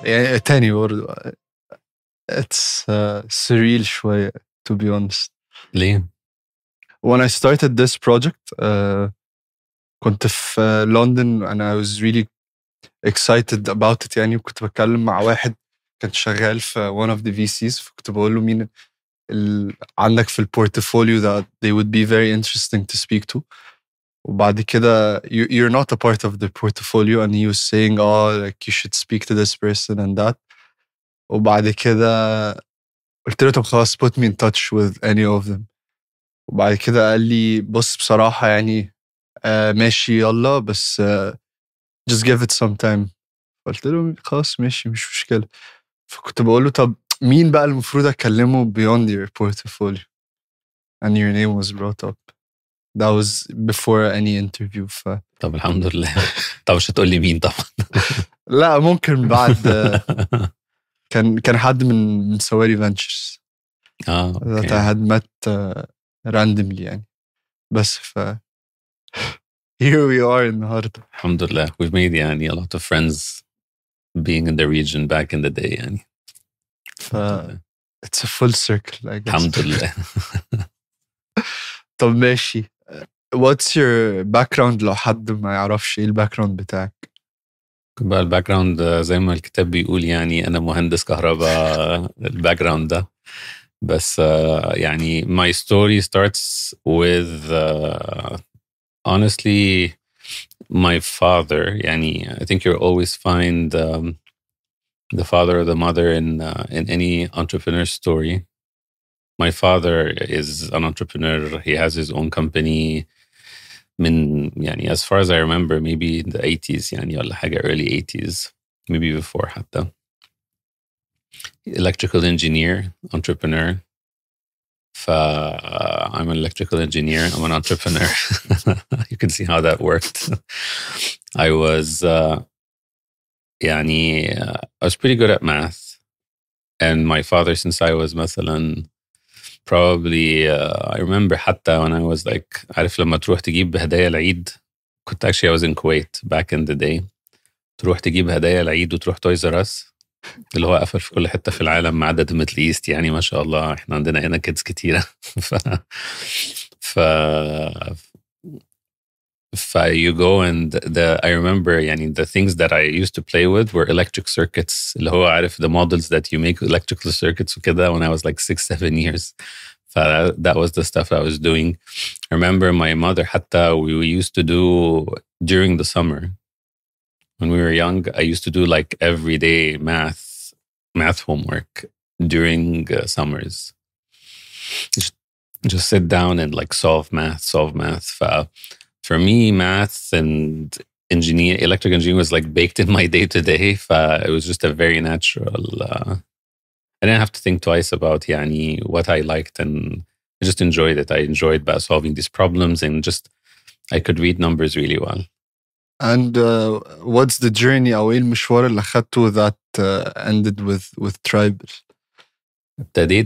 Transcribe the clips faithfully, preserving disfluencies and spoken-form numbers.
يعني تاني برضه it's uh, surreal شوية to be honest. ليه؟ When I started this project uh, كنت في لندن and I was really excited about it يعني. وكنت بتكلم مع واحد كان شغال في one of the في سيز، فكنت بقول له مين ال... عندك في البورتفوليو that they would be very interesting to speak to. وبعد كده you, you're not a part of the portfolio and he was saying oh like you should speak to this person and that. وبعد كده قلت له طب خلاص put me in touch with any of them. وبعد كده قال لي بص بصراحة يعني آه ماشي يلا بس آه just give it some time. قلت له خلاص ماشي مش مشكلة. فكنت بقول له طب مين بقى المفروض أكلمه beyond your portfolio and your name was brought up. That was before any interview. ف... طب الحمد لله. طب مش هتقول لي مين طبعا. لا ممكن بعد كان كان حد من من سواري فانتشرز اه that I had met uh, randomly يعني. بس ف here we are النهارده. الحمد لله. We've made يعني a lot of friends being in the region back in the day يعني. ف it's a full circle I guess. الحمد لله. طب ماشي. What's your background لو حد ما يعرفش ايه الباك جراوند بتاعك؟ بقى الباك جراوند زي ما الكتاب بيقول يعني أنا مهندس كهرباء. الباك جراوند ده بس uh, يعني my story starts with uh, honestly my father. يعني I think you'll always find um, the father or the mother in uh, in any entrepreneur story. My father is an entrepreneur. He has his own company من يعني as far as I remember maybe in the eighties يعني ولا حاجة early eighties maybe before حتى. Electrical engineer, entrepreneur. ف uh, I'm an electrical engineer. I'm an entrepreneur. You can see how that worked. I was uh, يعني uh, I was pretty good at math. And my father, since I was مثلا probably uh, I remember حتى when I was like عارف لما تروح تجيب هدايا العيد. كنت actually I was in Kuwait back in the day. تروح تجيب هدايا العيد وتروح تويز ار اس اللي هو قفل في كل حتة في العالم ما عدا ميدل ايست يعني ما شاء الله احنا عندنا هنا كيدز كتيرة. ف ف ف you go and the I remember يعني the things that I used to play with were electric circuits اللي هو عارف the models that you make electrical circuits وكده when I was like six seven years. ف that was the stuff I was doing. I remember my mother حتى we, we used to do during the summer when we were young. I used to do like everyday math math homework during uh, summers. Just, just sit down and like solve math, solve math. ف for me, math and engineer, electrical engineering was like baked in my day to day. It was just a very natural. Uh, I didn't have to think twice about yani, what I liked, and I just enjoyed it. I enjoyed about solving these problems, and just I could read numbers really well. And uh, what's the journey أو إيه المشوار اللي خدته that uh, ended with with Tribal? ابتديت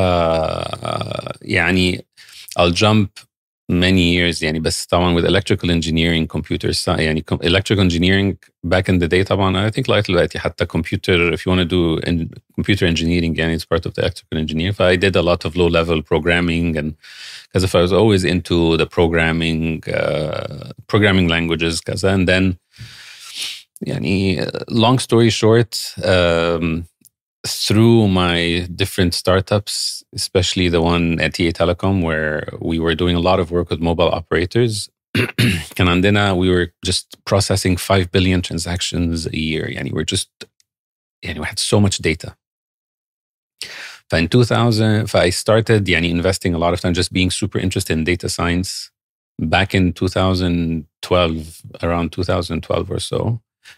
بقى يعني I'll jump many years يعني بس طبعا with electrical engineering computer science يعني electrical engineering back in the day طبعا I think لغاية دلوقتي حتى computer if you want to do in computer engineering يعني it's part of the electrical engineering. So I did a lot of low level programming and because if I was always into the programming uh, programming languages كذا and then يعني long story short um, through my different startups, especially the one at T A Telecom, where we were doing a lot of work with mobile operators. كان عندنا, we were just processing five billion transactions a year. يعني we're just, يعني we had so much data. So in two thousand, I started يعني investing a lot of time, just being super interested in data science back in two thousand twelve, around two thousand twelve or so.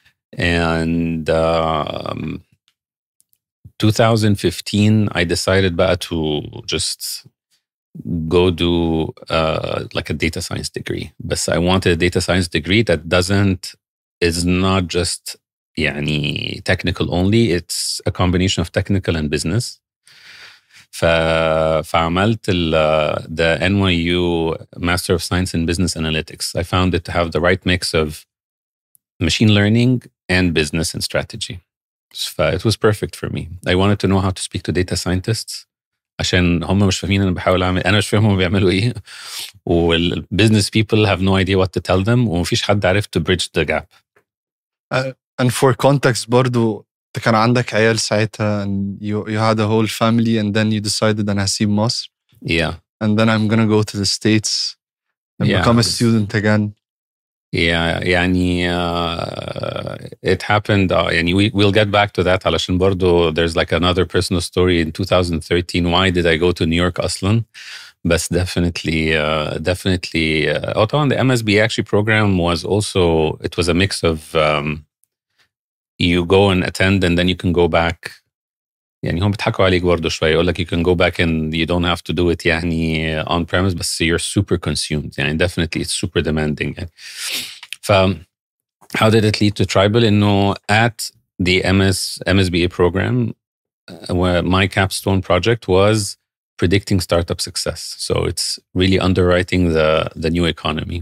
And um, two thousand fifteen, I decided بقى to just go do uh, like a data science degree. But I wanted a data science degree that doesn't, is not just يعني technical only. It's a combination of technical and business. ف, فعملت ال, the N Y U Master of Science in Business Analytics. I found it to have the right mix of machine learning and business and strategy. So it was perfect for me. I wanted to know how to speak to data scientists عشان هم مش فاهمين أنا بحاول أعمل، أنا مش فاهم هم بيعملوا إيه، والbusiness people have no idea what to tell them، ومفيش حد عارف to bridge the gap. Uh, and for context برضو انت كان عندك عيال ساعتها and you, you had a whole family and then you decided أنا هسيب مصر. Yeah. And then I'm gonna go to the States and Yeah. become a student again. Yeah, يعني uh, it happened. Uh, يعني we we'll get back to that. علشان برضو there's like another personal story in two thousand thirteen. Why did I go to New York أصلاً? But definitely, uh, definitely. Uh, oh, طبعاً the M S B A actually program was also, it was a mix of um, you go and attend and then you can go back. يعني هم بيضحكوا عليك برضو شوية، يقول لك you can go back and you don't have to do it يعني on premise، بس you're super consumed. يعني definitely it's super demanding. يعني. ف how did it lead to Tribal? إنه at the M S M S B A program, uh, where my capstone project was predicting startup success. So it's really underwriting the the new economy.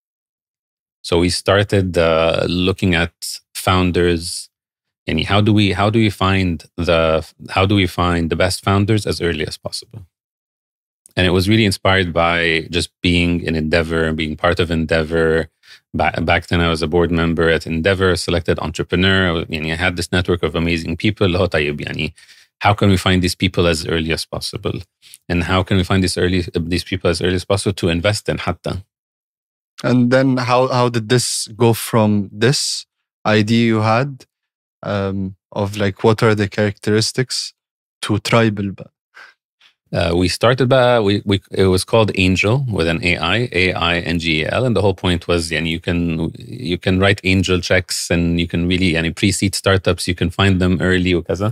So we started uh, looking at founders. And how do we how do we find the how do we find the best founders as early as possible? And it was really inspired by just being in Endeavor and being part of Endeavor. Back, back then, I was a board member at Endeavor, selected entrepreneur. I had this network of amazing people. How can we find these people as early as possible? And how can we find these early these people as early as possible to invest in حتى? And then how how did this go from this idea you had um, of like what are the characteristics to Tribal? Uh, we started by we, we it was called Angel with an A I A I N G E L, and the whole point was and you can you can write angel checks and you can really and pre-seed startups, you can find them early وكذا.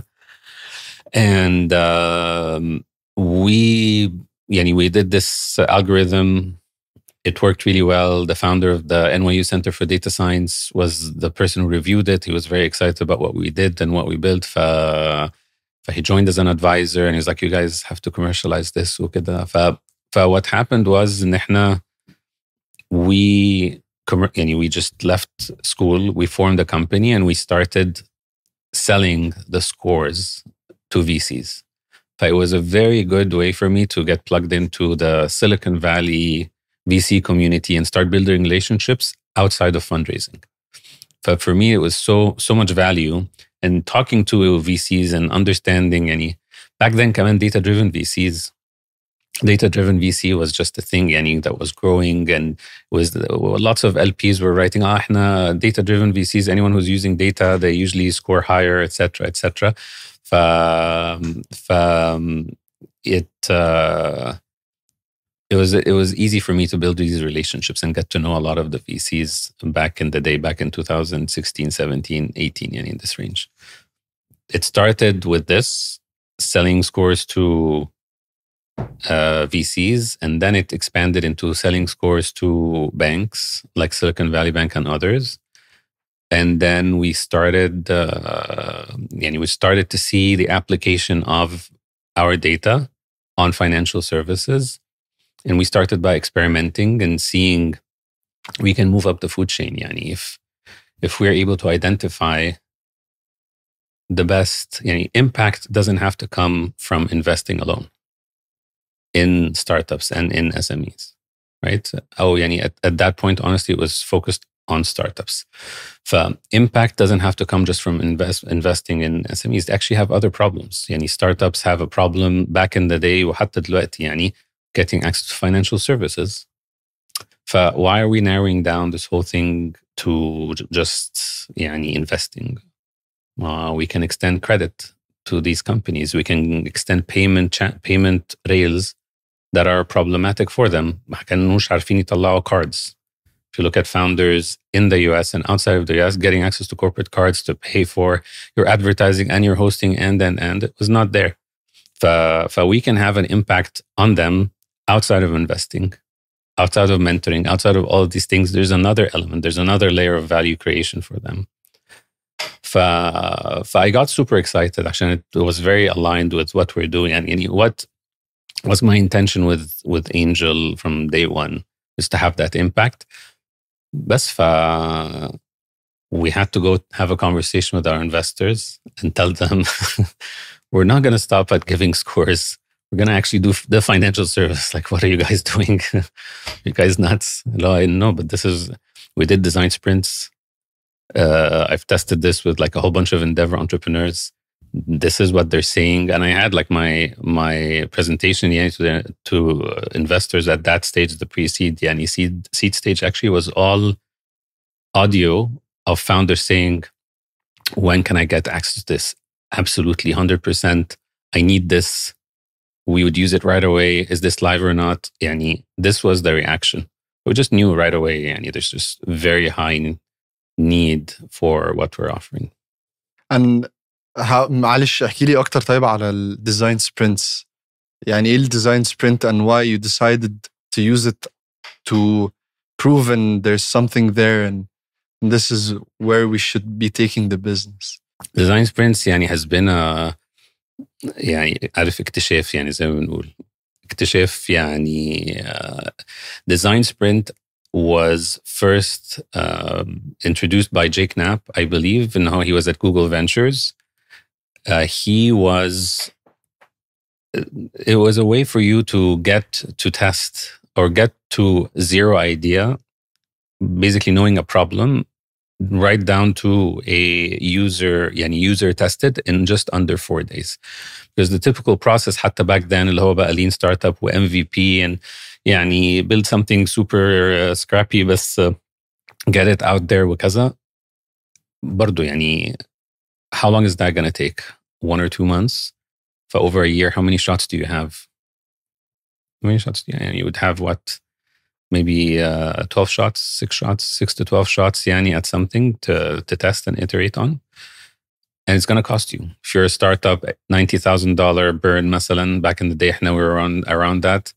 And um, we yani, we did this algorithm. It worked really well. The founder of the N Y U Center for Data Science was the person who reviewed it. He was very excited about what we did and what we built. Fa, fa he joined as an advisor and he's like, you guys have to commercialize this. Fa, fa what happened was we, we just left school. We formed a company and we started selling the scores to V Cs. But it was a very good way for me to get plugged into the Silicon Valley V C community and start building relationships outside of fundraising. But for me, it was so so much value in talking to V Cs and understanding any. Back then, كمان data-driven V Cs, data-driven V C was just a thing يعني, that was growing, and was lots of L Ps were writing, ah, احنا data-driven V Cs. Anyone who's using data, they usually score higher, et cetera, et cetera. ف, ف, it. Uh, It was it was easy for me to build these relationships and get to know a lot of the V Cs back in the day, back in two thousand sixteen, seventeen, eighteen, and in this range. It started with this, selling scores to uh, V Cs, and then it expanded into selling scores to banks like Silicon Valley Bank and others. And then we started, uh, and we started to see the application of our data on financial services. And we started by experimenting and seeing we can move up the food chain. Yani if if we're able to identify the best, yani impact doesn't have to come from investing alone in startups and in S M Es, right? Oh, yani at, at that point, honestly, it was focused on startups. So impact doesn't have to come just from invest, investing in S M Es. They actually have other problems. Yani startups have a problem back in the day وحتى دلوقتي يعني getting access to financial services. So why are we narrowing down this whole thing to just يعني, investing? Uh, we can extend credit to these companies. We can extend payment cha- payment rails that are problematic for them. ما كانوش عارفين يطلعوا cards. If you look at founders in the U S and outside of the U S, getting access to corporate cards to pay for your advertising and your hosting and, and, and, it was not there. So, so we can have an impact on them outside of investing, outside of mentoring, outside of all of these things. There's another element. There's another layer of value creation for them. So, so I got super excited. Actually, it was very aligned with what we're doing. And, and what was my intention with, with Angel from day one is to have that impact. بس ف we had to go have a conversation with our investors and tell them we're not going to stop at giving scores. We're going to actually do the financial service. Like, what are you guys doing? You guys nuts? No, I know, but this is, we did design sprints. Uh, I've tested this with like a whole bunch of Endeavor entrepreneurs. This is what they're saying. And I had like my my presentation yeah, to, the, to investors at that stage, the pre-seed, yeah, and seed, seed stage actually was all audio of founders saying, when can I get access to this? Absolutely, one hundred percent. I need this. We would use it right away. Is this live or not? Yani, this was the reaction. We just knew right away, yani, there's just very high need for what we're offering. And how, معلش احكي لي أكتر طيب على ال design sprints. يعني إيه ال design sprint and why you decided to use it to prove and there's something there and this is where we should be taking the business. Design sprints يعني has been a يعني عارف اكتشاف يعني زي ما بنقول اكتشاف يعني uh, design sprint was first um, introduced by Jake Knapp, I believe, and how he was at Google Ventures. Uh, he was, it was a way for you to get to test or get to zero idea, basically knowing a problem, right down to a user, yani user tested in just under four days. Because the typical process حتى back then اللي هو بقى lean startup و M V P and يعني build something super uh, scrappy بس uh, get it out there وكذا. برضو يعني how long is that going to take? One or two months? For over a year, how many shots do you have? How many shots do you have? You would have what? Maybe uh, twelve shots, six shots, six to twelve shots yani, at something to, to test and iterate on. And it's going to cost you. If you're a startup, ninety thousand dollars burn, مثلا, back in the day, we were around, around that.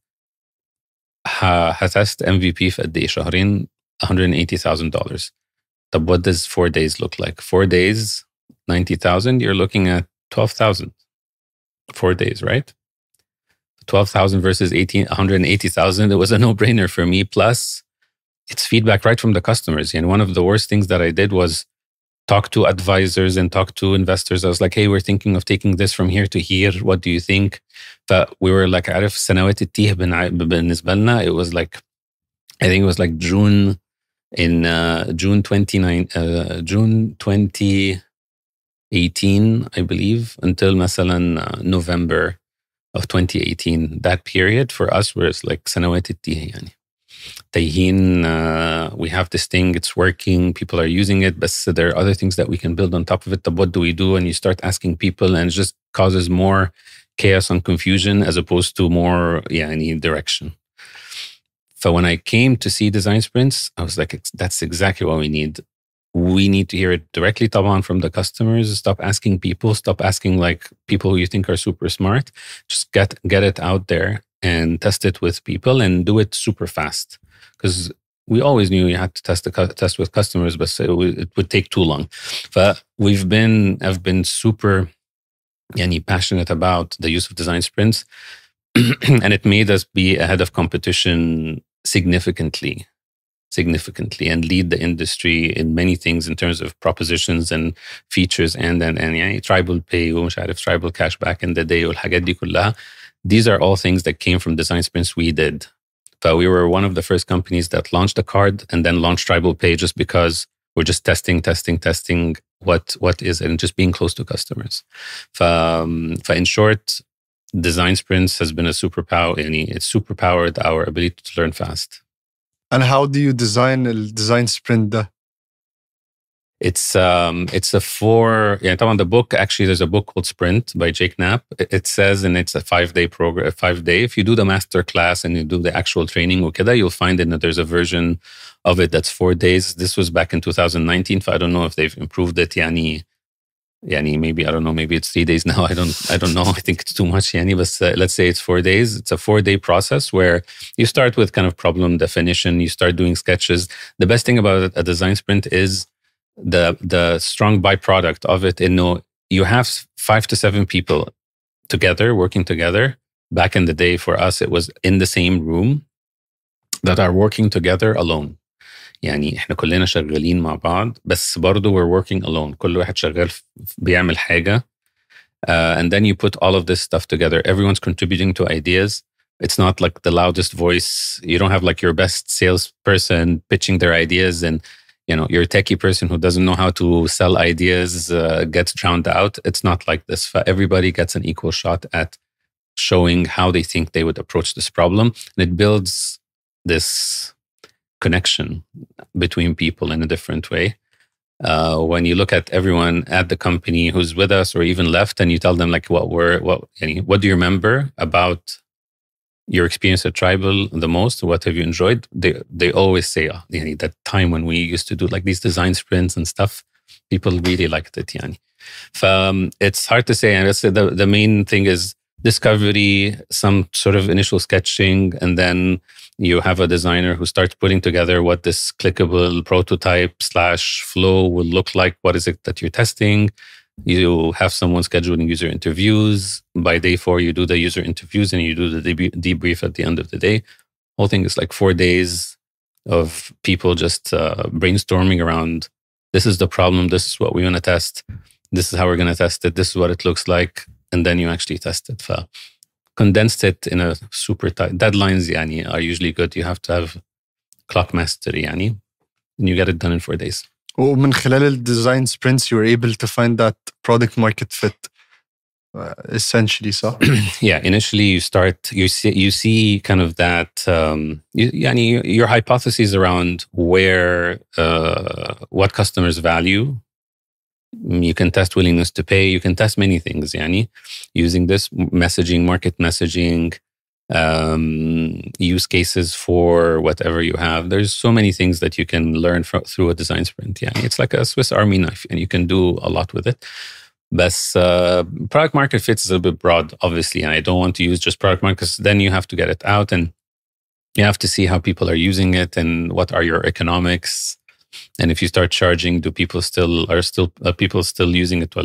هتست M V P في قد ايه شهرين one hundred eighty thousand dollars. But what does four days look like? Four days, ninety thousand, you're looking at twelve thousand. Four days, right? twelve thousand versus eighteen, one hundred eighty thousand. It was a no-brainer for me. Plus, it's feedback right from the customers. And one of the worst things that I did was talk to advisors and talk to investors. I was like, hey, we're thinking of taking this from here to here. What do you think? But we were like, عارف سنوات التيه بالنسبة لنا. It was like, I think it was like June in uh, June twenty-nine, uh, June twenty eighteen, I believe, until مثلا uh, November of twenty eighteen. That period for us was like سنوات التيه يعني. تايهين, uh, we have this thing, it's working, people are using it, but there are other things that we can build on top of it. What do we do? And you start asking people and it just causes more chaos and confusion as opposed to more yeah, any direction. So when I came to see design sprints, I was like, that's exactly what we need. We need to hear it directly طبعا from the customers. Stop asking people, stop asking like people who you think are super smart. Just get get it out there and test it with people and do it super fast. Because we always knew you had to test the test with customers, but it would, it would take too long. But we've been, I've been super yani, passionate about the use of design sprints, and it made us be ahead of competition significantly, significantly, and lead the industry in many things in terms of propositions and features and and and yani, tribal pay, ومش عارف, tribal cash back in the day, والحاجات دي كلها. These are all things that came from design sprints we did. But we were one of the first companies that launched a card and then launched Tribal Pay just because we're just testing, testing, testing what what is it and just being close to customers. Um, in short, design sprints has been a superpower. It's superpowered our ability to learn fast. And how do you design a design sprint? Da? It's um it's a four yeah on the book actually there's a book called Sprint by Jake Knapp. It says and it's a five day program a five day. If you do the master class and you do the actual training وكده, you'll find that there's a version of it that's four days. This was back in two thousand nineteen. So I don't know if they've improved it. Yani, yani maybe I don't know. Maybe it's three days now. I don't I don't know. I think it's too much. Yani, but uh, let's say it's four days. It's a four day process where you start with kind of problem definition. You start doing sketches. The best thing about a design sprint is the the strong byproduct of it. In no, you have five to seven people together working together. Back in the day, for us, it was in the same room that are working together alone. يعني احنا كلنا شغالين مع بعض بس برضو we're working alone. كل واحد شغال بيعمل حاجة. Uh, and then you put all of this stuff together. Everyone's contributing to ideas. It's not like the loudest voice. You don't have like your best salesperson pitching their ideas and, you know, your techie person who doesn't know how to sell ideas uh, gets drowned out. It's not like this. Everybody gets an equal shot at showing how they think they would approach this problem. And it builds this connection between people in a different way. Uh, when you look at everyone at the company who's with us or even left, and you tell them like what were what what do you remember about your experience at Tribal the most? What have you enjoyed? They they always say oh, yani, that time when we used to do like these design sprints and stuff. People really liked it. Yani. Um, it's hard to say. And the the main thing is discovery, some sort of initial sketching, and then you have a designer who starts putting together what this clickable prototype slash flow will look like. What is it that you're testing? You have someone scheduling user interviews. By day four, you do the user interviews and you do the deb- debrief at the end of the day. Whole thing is like four days of people just uh, brainstorming around, this is the problem, this is what we want to test, this is how we're going to test it, this is what it looks like, and then you actually test it. So condensed it in a super tight deadlines yani, are usually good. You have to have clock mastery yani, and you get it done in four days. ومن خلال الديزاين sprints you were able to find that product market fit uh, essentially. So yeah, initially you start you see you see kind of that um you, yani, your hypotheses around where uh, what customers value. You can test willingness to pay. You can test many things, yani, using this messaging, market messaging, um, use cases for whatever you have. There's so many things that you can learn from, through a design sprint. Yani. It's like a Swiss Army knife, and you can do a lot with it. But uh, product market fit is a bit broad, obviously, and I don't want to use just product market because then you have to get it out and you have to see how people are using it and what are your economics. And if you start charging, do people still are still are people still using it?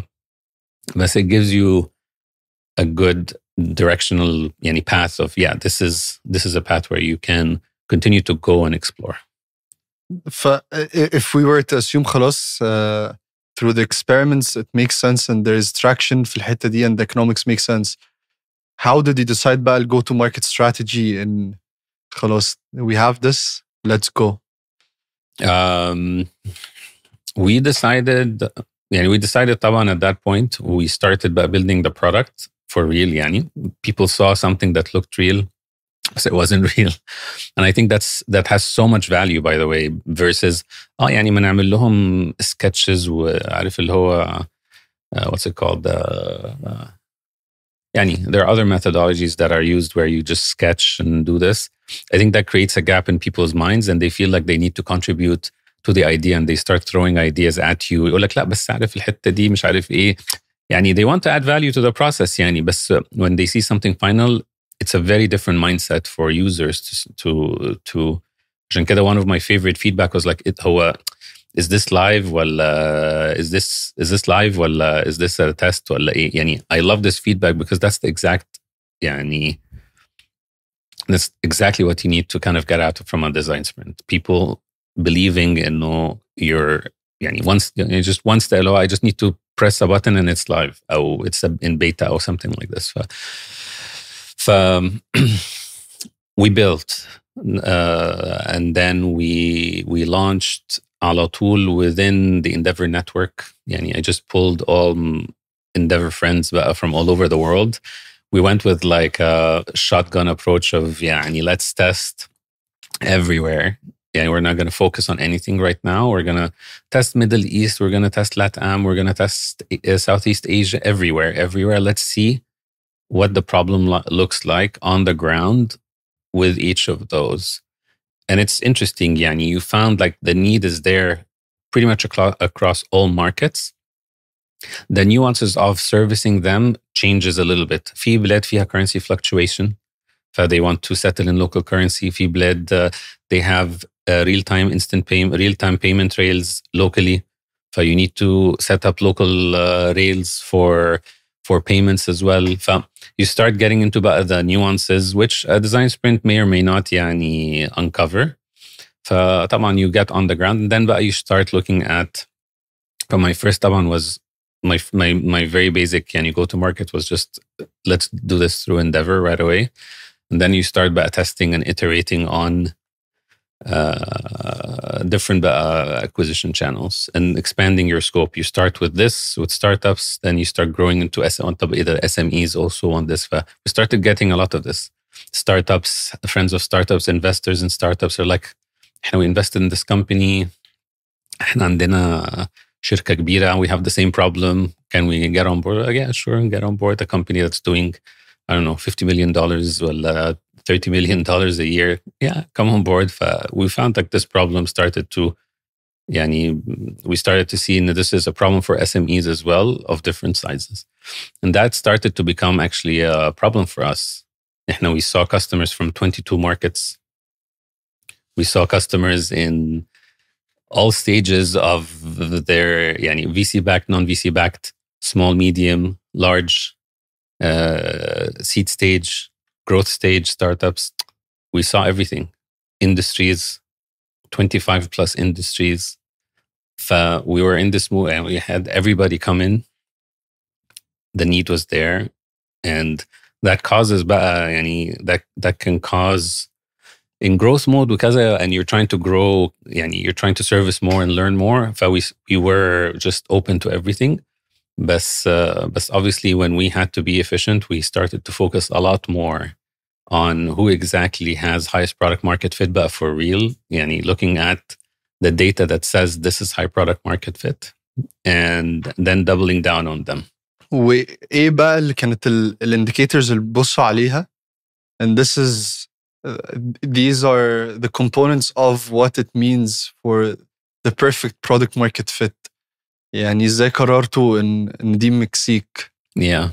But it gives you a good directional yani, path of yeah, this is this is a path where you can continue to go and explore. If we were to assume خلاص uh, through the experiments it makes sense and there is traction في الحتة دي and the economics make sense, how did you decide بقى go to market strategy and خلاص we have this, let's go? Um, we decided, yani we decided طبعا at that point, we started by building the product for real. Yani. People saw something that looked real, but it wasn't real. And I think that's that has so much value, by the way, versus اه يعني ما نعمل لهم sketches وعارف اللي هو uh, what's it called? Uh, uh, يعني there are other methodologies that are used where you just sketch and do this. I think that creates a gap in people's minds and they feel like they need to contribute to the idea and they start throwing ideas at you. يقول لك لا بس عارف الحتة دي مش عارف إيه. يعني they want to add value to the process يعني بس when they see something final, it's a very different mindset for users to to to. عشان كده one of my favorite feedback was like it هو is this live ولا is this is this live ولا is this a test ولا إيه يعني. I love this feedback because that's the exact يعني that's exactly what you need to kind of get out from a design sprint. People believing in no you're يعني once you know, just once the oh, I just need to press a button and it's live or it's in beta or something like this. So, so we built uh, and then we we launched على طول within the Endeavor network. يعني I just pulled all Endeavor friends from all over the world. We went with like a shotgun approach of يعني let's test everywhere. Yeah, we're not going to focus on anything right now. We're going to test Middle East. We're going to test LATAM. We're going to test uh, Southeast Asia, everywhere, everywhere. Let's see what the problem lo- looks like on the ground with each of those. And it's interesting, Yani, you found like the need is there pretty much aclo- across all markets. The nuances of servicing them changes a little bit. في بلاد فيها currency fluctuation. So they want to settle in local currency. في بلاد uh, they have uh, real-time instant payment, real-time payment rails locally. So you need to set up local uh, rails for for payments as well. So you start getting into the nuances, which a design sprint may or may not yani, uncover. فطبعا you get on the ground and then بقى you start looking at. But my first طبعا was my my my very basic يعني go to market was just let's do this through Endeavor right away, and then you start by testing and iterating on uh, different uh, acquisition channels and expanding your scope. You start with this with startups, then you start growing into S- on top of the S M Es also on this. We started getting a lot of this. Startups, friends of startups, investors in startups are like, we invested in this company. احنا عندنا شركة كبيرة. We have the same problem. Can we get on board? Yeah, sure, get on board. A company that's doing, I don't know, fifty million dollars or thirty million dollars a year. Yeah, come on board. We found like this problem started to, yani, we started to see that this is a problem for S M Es as well of different sizes. And that started to become actually a problem for us. We saw customers from twenty-two markets. We saw customers in all stages of their yani, V C-backed, non-V C-backed, small, medium, large, uh, seed stage, growth stage startups. We saw everything. Industries, twenty-five plus industries. So we were in this move and we had everybody come in. The need was there. And that causes, yani, that, that can cause in growth mode because and you're trying to grow, yani, you're trying to service more and learn more. So we, we were just open to everything. But, uh, but obviously when we had to be efficient, we started to focus a lot more on who exactly has highest product market fit, but for real, yani, looking at the data that says this is high product market fit and then doubling down on them. وإيه بقى اللي كانت الindicators اللي بصوا عليها? And this is, uh, these are the components of what it means for the perfect product market fit. يعني إزاي قررتوا إن إن دي مكسيك؟ Yeah.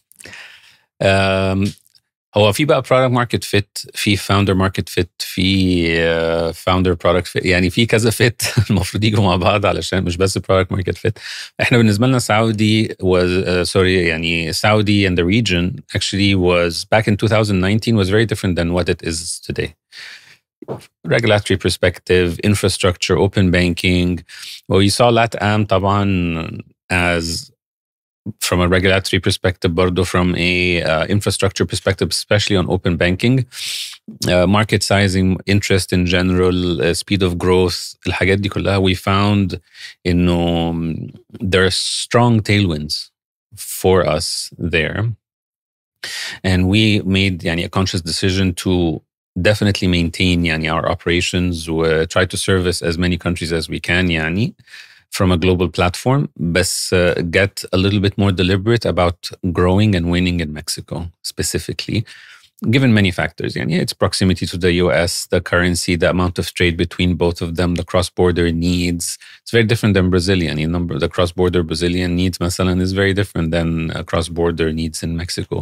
Um, هو في بقى product market fit، في founder market fit، في uh, founder product fit، يعني في كذا fit المفروض يجوا مع بعض علشان مش بس product market fit. احنا بالنسبة لنا Saudi was uh, sorry يعني Saudi and the region actually was back in twenty nineteen was very different than what it is today. Regulatory perspective, infrastructure, open banking. Well, you saw LATAM طبعا as from a regulatory perspective, برضو from a uh, infrastructure perspective, especially on open banking, uh, market sizing, interest in general, uh, speed of growth, الحاجات دي كلها, we found إنه um, there are strong tailwinds for us there. And we made يعني, a conscious decision to definitely maintain يعني, our operations, uh, try to service as many countries as we can يعني, from a global platform, but uh, get a little bit more deliberate about growing and winning in Mexico specifically, given many factors. Yeah, its proximity to the U S, the currency, the amount of trade between both of them, the cross-border needs. It's very different than Brazilian. You know, the cross-border Brazilian needs, مثلا, is very different than uh, cross-border needs in Mexico.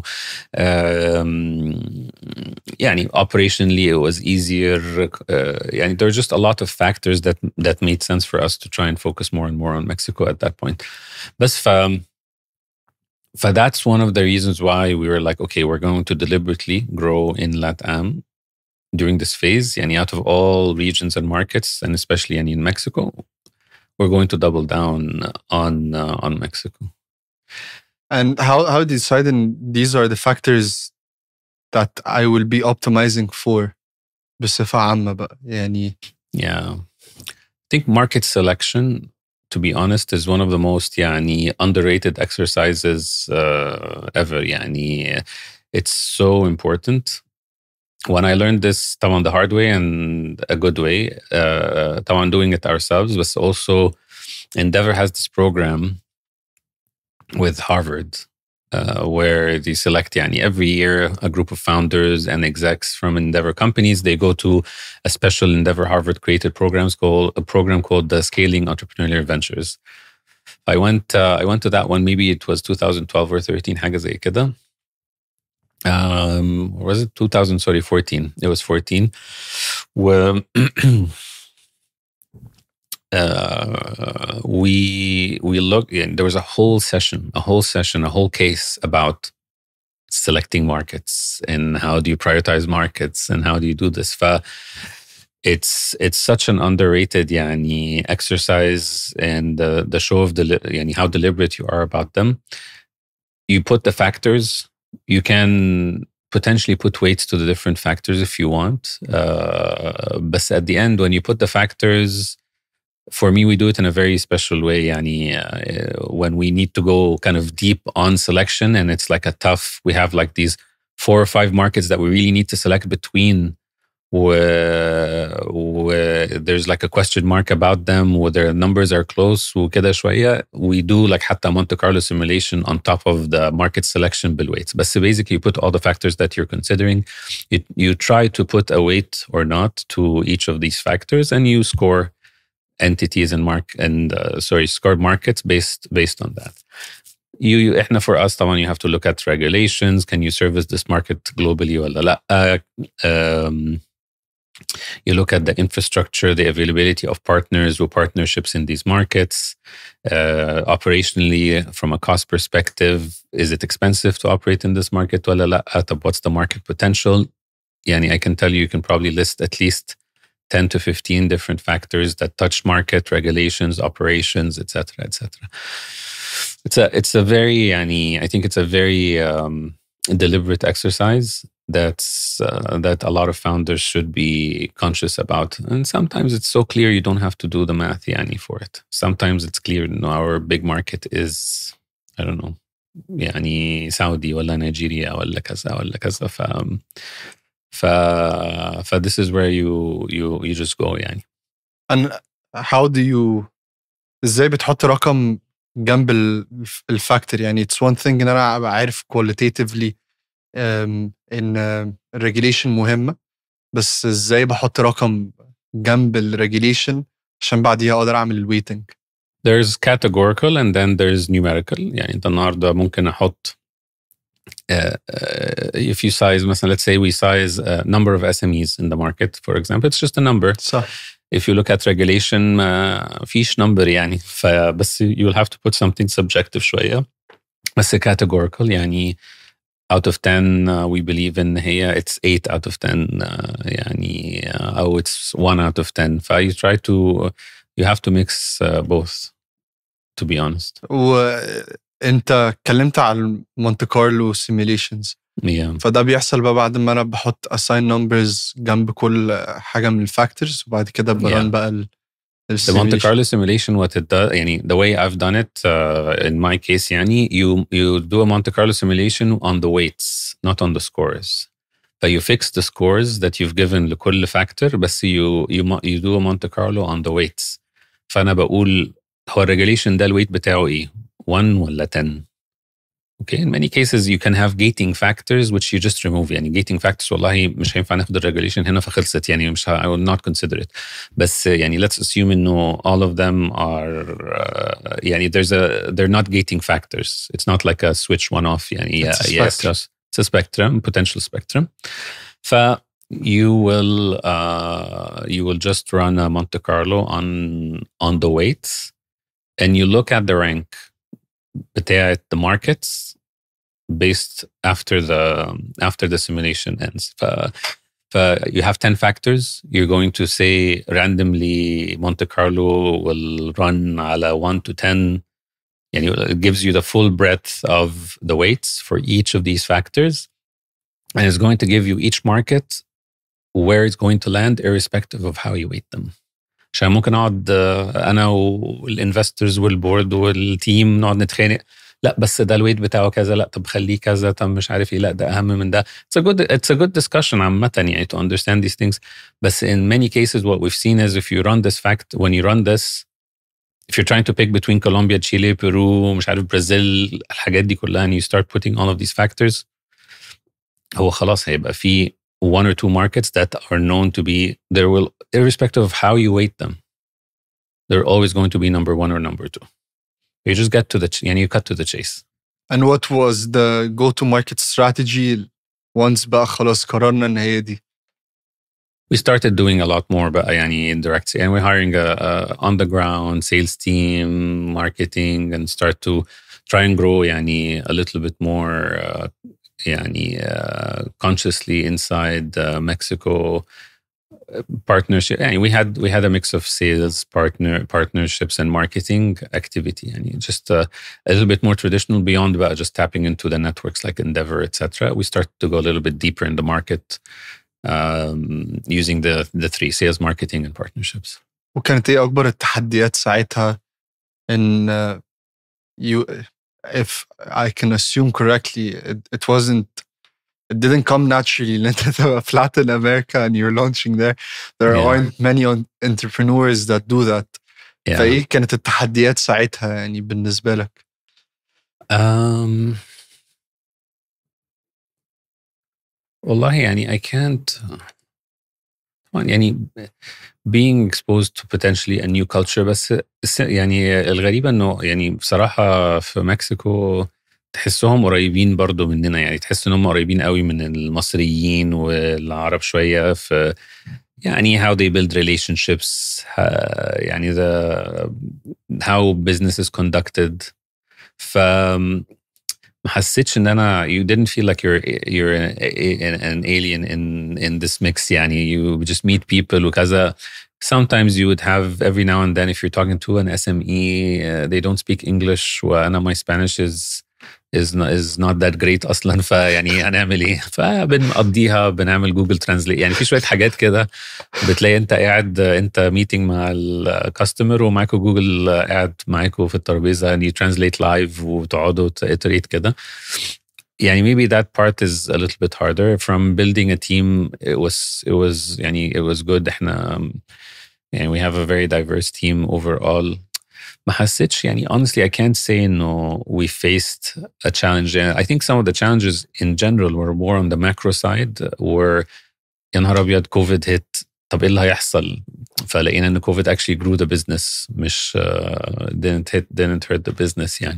Um, yeah, operationally, it was easier. Uh, yeah, there were just a lot of factors that that made sense for us to try and focus more and more on Mexico at that point. But um, So that's one of the reasons why we were like, okay, we're going to deliberately grow in LATAM during this phase. And out of all regions and markets, and especially in Mexico, we're going to double down on uh, on Mexico. And how how do you decide these are the factors that I will be optimizing for بصفة عامة بقى يعني? Yeah, I think market selection, to be honest, is one of the most يعني, underrated exercises uh, ever. يعني, it's so important. When I learned this طبعا the hard way and a good way, uh, طبعا doing it ourselves, but also Endeavor has this program with Harvard uh, where they select يعني, every year a group of founders and execs from Endeavor companies. They go to a special Endeavor Harvard created programs called a program called the Scaling Entrepreneurial Ventures. I went uh, I went to that one. Maybe it was twenty twelve or thirteen, حاجة زي كده. Um, or was it two thousand? Sorry, fourteen. It was fourteen. Where uh, we we looked. Yeah, there was a whole session, a whole session, a whole case about selecting markets and how do you prioritize markets and how do you do this. it's it's such an underrated يعني exercise, and the, the show of the يعني how deliberate you are about them. You put the factors, you can potentially put weights to the different factors if you want. Uh, but at the end, when you put the factors, for me, we do it in a very special way. Yani, uh, when we need to go kind of deep on selection, and it's like a tough, we have like these four or five markets that we really need to select between, where, where there's like a question mark about them, where their numbers are close, وكده شوية, we do like حتى Monte Carlo simulation on top of the market selection بالweights. But so basically you put all the factors that you're considering, you, you try to put a weight or not to each of these factors, and you score entities and mark and uh, sorry score markets based based on that. You, you احنا for us طبعا you have to look at regulations. Can you service this market globally ولا لا? Uh, um, you look at the infrastructure, the availability of partners or partnerships in these markets. Uh, operationally, from a cost perspective, is it expensive to operate in this market ولا لا? What's the market potential? Yani, I can tell you, you can probably list at least ten to fifteen different factors that touch market regulations, operations, et cetera, et cetera. It's a, it's a very, yani, I think it's a very um, deliberate exercise that's uh, that a lot of founders should be conscious about. And sometimes it's so clear you don't have to do the math, yani, for it. Sometimes it's clear, you know, our big market is, I don't know, yani, Saudi ولا Nigeria ولا كذا ولا كذا. ف ف ف this is where you you you just go يعني. And how do you ازاي بتحط رقم جنب الفاكتور؟ يعني it's one thing ان انا ابقى عارف qualitatively um, ان الريجوليشن مهمة، بس ازاي بحط رقم جنب الريجوليشن عشان بعديها اقدر اعمل الويتنج؟ There's categorical and then there's numerical. يعني انت النهارده ممكن احط Uh, uh, if you size, مثلا, let's say we size a number of S M Es in the market, for example, it's just a number. صح. If you look at regulation, uh, فيش number يعني، فبس you'll have to put something subjective شوية. بس categorical يعني out of ten uh, we believe in هي it's eight out of ten uh, يعني uh, أو it's one out of ten. ف you try to you have to mix uh, both, to be honest. و انت اتكلمت على مونte كارلو سيميليشنز. yeah. فده بيحصل بقى بعد ما انا بحط assign numbers جنب كل حاجه من الفاكتورز، وبعد كده بران yeah. بقى ال The Monte Carlo simulation, what it does, يعني the way I've done it uh, in my case, يعني you you do a Monte Carlo simulation on the weights, not on the scores. So you fix the scores that you've given لكل factor, بس you you you do a Monte Carlo on the weights. فأنا بقول هو regulation ده الويت بتاعه إيه؟ one ولا ten. Okay, in many cases you can have gating factors which you just remove. يعني gating factors والله مش هينفع ناخد الريجوليشن هنا فخلصت، يعني مش I will not consider it. بس يعني let's assume إنه all of them are uh, يعني there's a they're not gating factors. It's not like a switch one off. يعني it's yeah, yes, yes, it's a spectrum, potential spectrum. ف you will uh, you will just run a Monte Carlo on on the weights, and you look at the rank بتاعت the markets based after the after the simulation ends. ف, ف you have ten factors. You're going to say randomly Monte Carlo will run على one to ten. And it gives you the full breadth of the weights for each of these factors. And it's going to give you each market where it's going to land irrespective of how you weight them. عشان ممكن اقعد انا والانفسترز والبورد والتيم نقعد نتخانق، لا بس ده الويت بتاعه كذا، لا طب خليه كذا، طب مش عارف ايه، لا ده اهم من ده. It's a good it's a good discussion عامة يعني to understand these things. بس in many cases what we've seen is if you run this fact when you run this if you're trying to pick between Colombia, Chile, Peru, مش عارف برازيل، الحاجات دي كلها and you start putting all of these factors، هو خلاص هيبقى في one or two markets that are known to be, there will, irrespective of how you weight them, they're always going to be number one or number two. You just get to the, and you cut to the chase. And what was the go-to-market strategy once بقى خلاص قررنا إن هي دي؟ We started doing a lot more بقى يعني indirect, and we're hiring a, a on-the-ground sales team, marketing, and start to try and grow يعني a little bit more uh, يعني uh, consciously inside uh, Mexico. partnership يعني we had we had a mix of sales partner partnerships and marketing activity يعني just a, a little bit more traditional beyond about just tapping into the networks like Endeavor et cetera. We started to go a little bit deeper in the market um, using the the three sales, marketing and partnerships. وكانت ايه اكبر التحديات ساعتها ان uh, you if I can assume correctly it, it wasn't it didn't come naturally ان انت تبقى في Latin America and you're launching there. There Yeah. aren't many entrepreneurs that do that. Yeah. فايه كانت التحديات ساعتها يعني بالنسبة لك؟ Um, والله يعني I can't يعني being exposed to potentially a new culture بس يعني الغريبة انه يعني بصراحة في مكسيكو تحسهم قريبين برضو مننا يعني تحس انهم قريبين قوي من المصريين والعرب شوية في يعني how they build relationships يعني the how business is conducted. ف ما حسيتش ان انا you didn't feel like you're you're an, an alien in in this mix يعني you just meet people وكذا. Sometimes you would have every now and then if you're talking to an S M E uh, they don't speak English وانا my Spanish is is not, is not that great اصلا فيعني هنعمل ايه فبنقضيها بنعمل جوجل ترانزليت يعني في شويه حاجات كده بتلاقي انت قاعد انت ميتنج مع الكاستمر ومعاكوا جوجل قاعد معاكوا في الترابيزه يعني ترانزليت لايف وتقعدوا تيتريت كده يعني maybe that part is a little bit harder. From building a team it was it was يعني it was good. احنا يعني we have a very diverse team overall. ما حسيتش يعني honestly I can't say no we faced a challenge. I think some of the challenges in general were more on the macro side where يا نهار أبيض COVID hit طب إيه اللي هيحصل فلقينا إن COVID actually grew the business مش uh, didn't hit didn't hurt the business يعني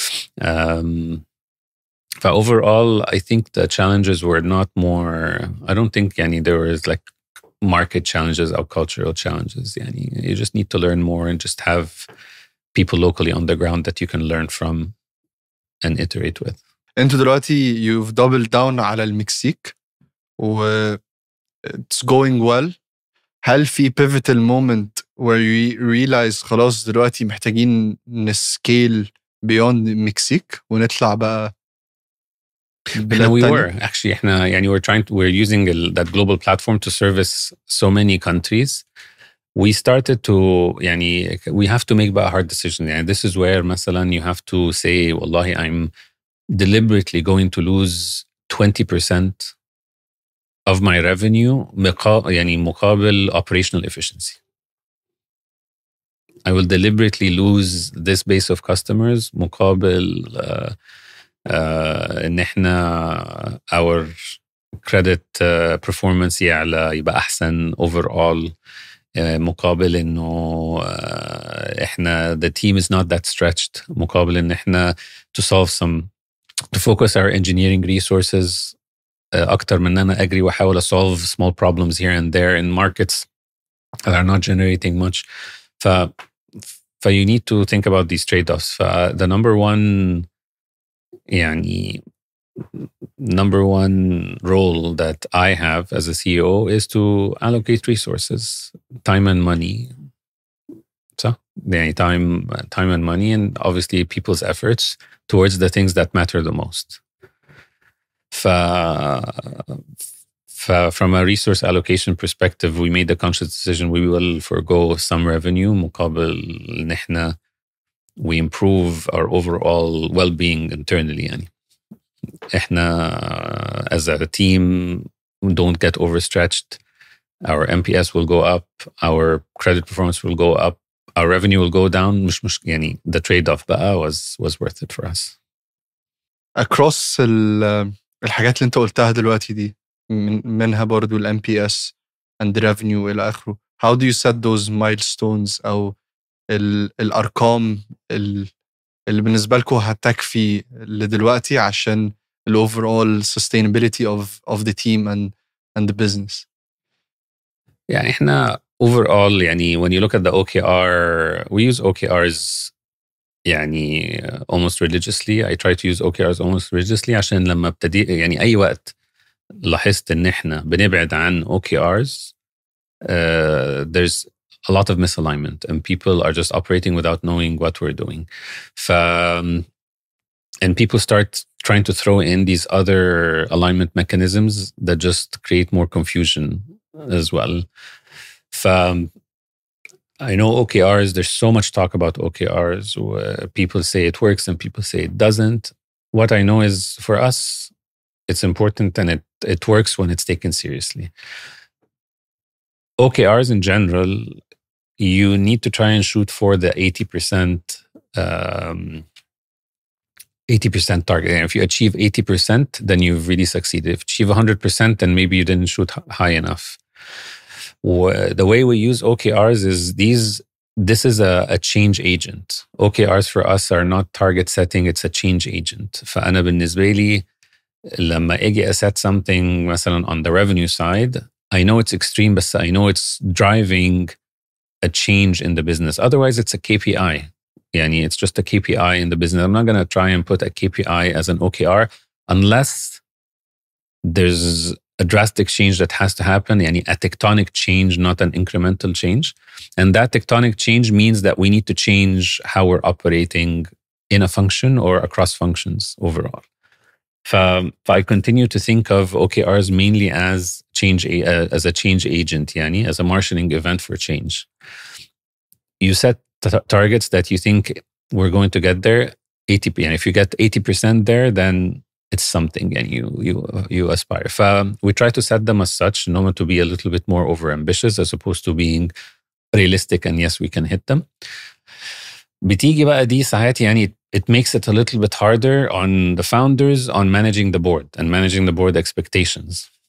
um, ف overall I think the challenges were not more I don't think يعني there was like market challenges or cultural challenges يعني you just need to learn more and just have people locally on the ground that you can learn from and iterate with. انتوا دلوقتي you've doubled down على المكسيك و it's going well. هل في pivotal moment where you realize خلاص دلوقتي محتاجين نسكيل beyond المكسيك ونطلع بقى احنا we were actually احنا يعني we're trying to, we're using that global platform to service so many countries. We started to يعني we have to make a hard decision يعني this is where مثلا you have to say والله I'm deliberately going to lose twenty percent of my revenue مقا, يعني مقابل operational efficiency. I will deliberately lose this base of customers مقابل uh, uh, ان احنا our credit uh, performance يعلى يبقى احسن overall مقابل انه احنا the team is not that stretched مقابل ان احنا to solve some to focus our engineering resources اكتر من ان انا اجري واحاول solve small problems here and there in markets that are not generating much. ف ف you need to think about these trade-offs. ف the number one يعني number one role that I have as a C E O is to allocate resources, time and money. So, yeah, time, time and money, and obviously people's efforts towards the things that matter the most. From a resource allocation perspective, we made the conscious decision we will forgo some revenue مقابل إن إحنا we improve our overall well-being internally يعني. احنا as a team don't get overstretched. Our M P S will go up, our credit performance will go up, our revenue will go down. مش مش يعني the trade-off بقى was was worth it for us. Across الحاجات اللي انت قلتها دلوقتي دي من منها برضو ال M P S and revenue إلى آخره. How do you set those milestones أو ال الأرقام ال اللي بالنسبة لكم هتكفي لدلوقتي عشان the overall sustainability of of the team and and the business? يعني احنا overall يعني when you look at the O K R we use O K Rs يعني almost religiously. I try to use O K Rs almost religiously عشان لما ابتدي يعني أي وقت لاحظت إن احنا بنبعد عن O K Rs uh, there's a lot of misalignment and people are just operating without knowing what we're doing. ف, and people start trying to throw in these other alignment mechanisms that just create more confusion as well. ف, I know O K Rs, there's so much talk about O K Rs. People say it works and people say it doesn't. What I know is for us, it's important and it, it works when it's taken seriously. O K Rs in general, you need to try and shoot for the eighty percent um, eighty percent target. And if you achieve eighty percent, then you've really succeeded. If you achieve one hundred percent, then maybe you didn't shoot high enough. The way we use O K Rs is these, this is a, a change agent. O K Rs for us are not target setting, it's a change agent. فأنا بالنسبة لي لما أجي أset something مثلا on the revenue side, I know it's extreme, but I know it's driving a change in the business. Otherwise, it's a K P I. Yani, it's just a K P I in the business. I'm not going to try and put a K P I as an O K R unless there's a drastic change that has to happen, yani a tectonic change, not an incremental change. And that tectonic change means that we need to change how we're operating in a function or across functions overall. So I continue to think of O K Rs mainly as change, uh, as a change agent, yani, as a marshalling event for change. You set t- targets that you think we're going to get there, eighty percent. And if you get eighty percent there, then it's something and you you you aspire. So we try to set them as such, no to be a little bit more overambitious as opposed to being realistic and yes, we can hit them. بتيجي بقى دي ساعات يعني it makes it a little bit harder on the founders on managing the board and managing the board expectations.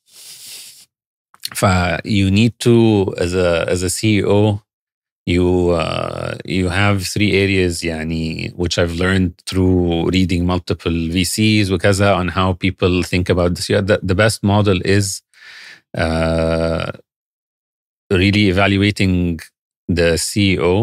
So you need to, as a as a C E O, you uh, you have three areas يعني, which I've learned through reading multiple V Cs وكذا on how people think about this. Yeah, the, the best model is uh, really evaluating the C E O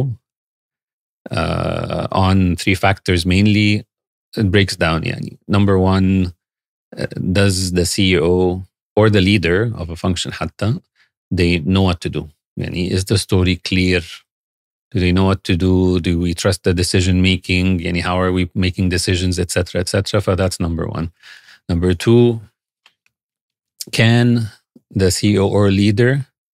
uh, on three factors mainly. It breaks down. Yani. Number one, uh, does the C E O or the leader of a function حتى, they know what to do? Yani, is the story clear? Do they know what to do? Do we trust the decision making? Yani, how are we making decisions, et cetera, et cetera? So that's number one. Number two, can the C E O or leader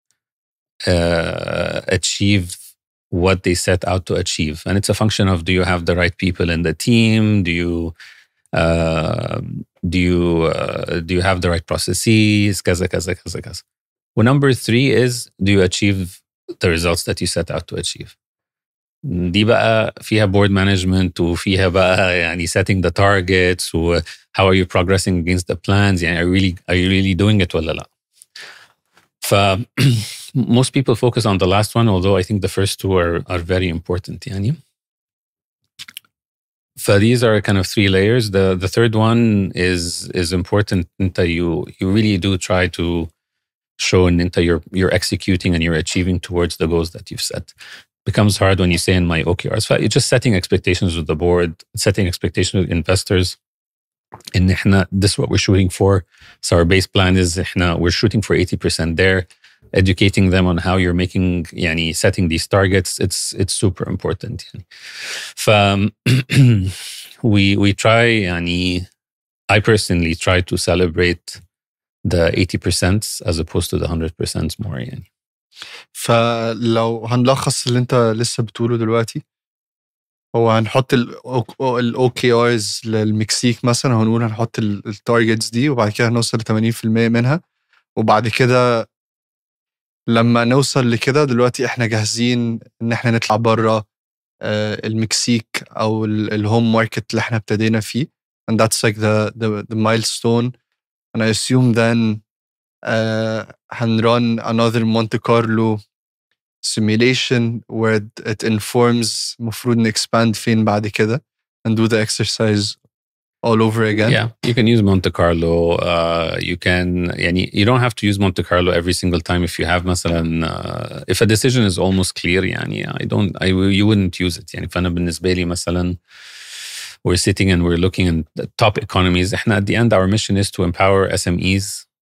uh, achieve what they set out to achieve? And it's a function of, do you have the right people in the team? Do you uh, do you uh, do you have the right processes? Kaza, kaza, kaza, kaza. Well, number three is, do you achieve the results that you set out to achieve? دي بقى فيها board management وفيها بقى يعني setting the targets و how are you progressing against the plans, يعني are you really, are you really doing it ولا لا. ف most people focus on the last one, although I think the first two are are very important يعني. So these are kind of three layers. The the third one is is important. Inta you you really do try to show Inta you're you're executing and you're achieving towards the goals that you've set. It becomes hard when you say in my O K Rs. So you're just setting expectations with the board, setting expectations with investors. And this is what we're shooting for. So our base plan is we're shooting for eighty percent there. Educating them on how you're making, yani, setting these targets, it's it's super important. Yani. Um, we we try, yani, I personally try to celebrate the eighty percent as opposed to the one hundred percent more. Yani. فلو هنلخص اللي انت لسه بتقوله دلوقتي، هو هنحط ال O K Rs للمكسيك مثلا، هنقول هنحط التارجتس دي وبعد كده هنوصل ل ثمانين بالمية منها، وبعد كده لما نوصل لكده دلوقتي احنا جاهزين ان احنا نطلع بره المكسيك او الهوم ماركت اللي احنا ابتدينا فيه. And that's like the the, the milestone. And I assume then uh, هنrun another Monte Carlo simulation where it informs مفروض نexpand فين بعد كده and do the exercise all over again. Yeah, you can use Monte Carlo. Uh, you can, yani, you don't have to use Monte Carlo every single time. If you have, مثلا, uh, if a decision is almost clear, yani, I don't, I, you wouldn't use it. يعني فأنا بالنسبة لي مثلا, we're sitting and we're looking at the top economies. إحنا at the end, our mission is to empower S M Es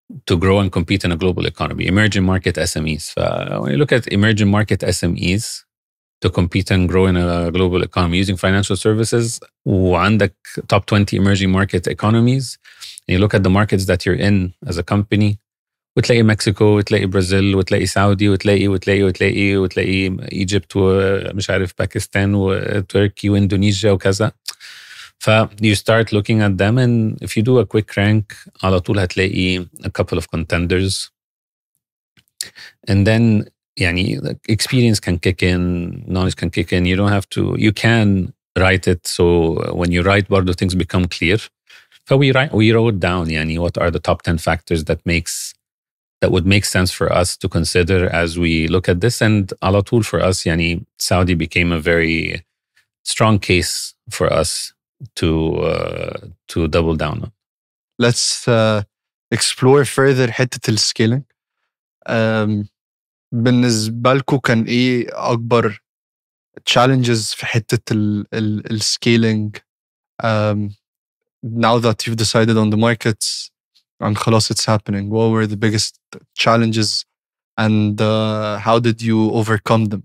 to grow and compete in a global economy. Emerging market S M Es. Uh, when you look at emerging market S M Es to compete and grow in a global economy using financial services, وعندك top twenty emerging market economies, and you look at the markets that you're in as a company, وتلاقي مكسيكو وتلاقي برازيل وتلاقي سعودي وتلاقي وتلاقي وتلاقي وتلاقي ايجيبت ومش عارف باكستان وتركي واندونيسيا وكذا. ف you start looking at them, and if you do a quick rank على طول هتلاقي a couple of contenders. And then يعني experience can kick in, knowledge can kick in. You don't have to, you can write it. So when you write برضو things become clear. So we write, we wrote down يعني what are the top ten factors that makes that would make sense for us to consider as we look at this. And على طول for us يعني Saudi became a very strong case for us to uh, to double down on. Let's uh, explore further حتة السكيلينج. um, بالنسبة لكم كان ايه أكبر challenges في حتة السكيلينج um, now that you've decided on the markets and خلاص it's happening? What were the biggest challenges and uh, how did you overcome them?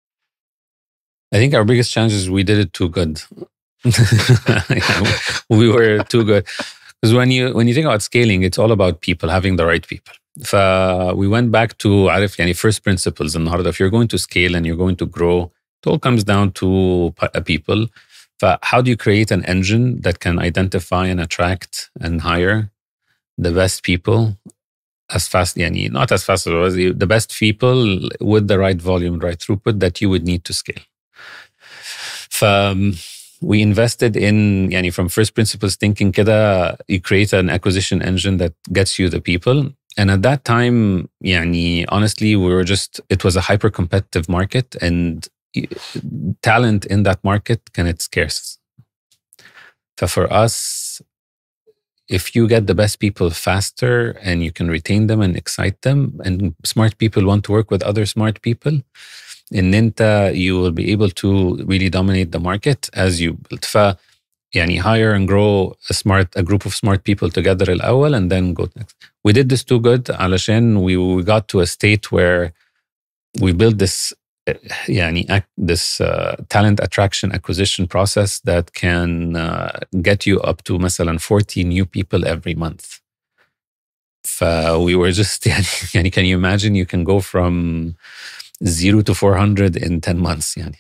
I think our biggest challenge is we did it too good. We were too good. Because when you when you think about scaling, it's all about people, having the right people. So we went back to عارف يعني first principles النهارده. If you're going to scale and you're going to grow, it all comes down to people. So how do you create an engine that can identify and attract and hire the best people as fast, يعني not as fast as the best people with the right volume, right throughput that you would need to scale. So we invested in, يعني from first principles thinking كده, you create an acquisition engine that gets you the people. And at that time, يعني honestly, we were just, it was a hyper competitive market, and talent in that market كانت scarce. So for us, if you get the best people faster and you can retain them and excite them, and smart people want to work with other smart people, in Ninta, you will be able to really dominate the market as you build. ف يعني hire and grow a smart a group of smart people together الأول and then go next. We did this too good علشان we, we got to a state where we built this يعني this uh, talent attraction acquisition process that can uh, get you up to مثلا forty new people every month. ف we were just يعني, يعني can you imagine you can go from zero to four hundred in ten months يعني.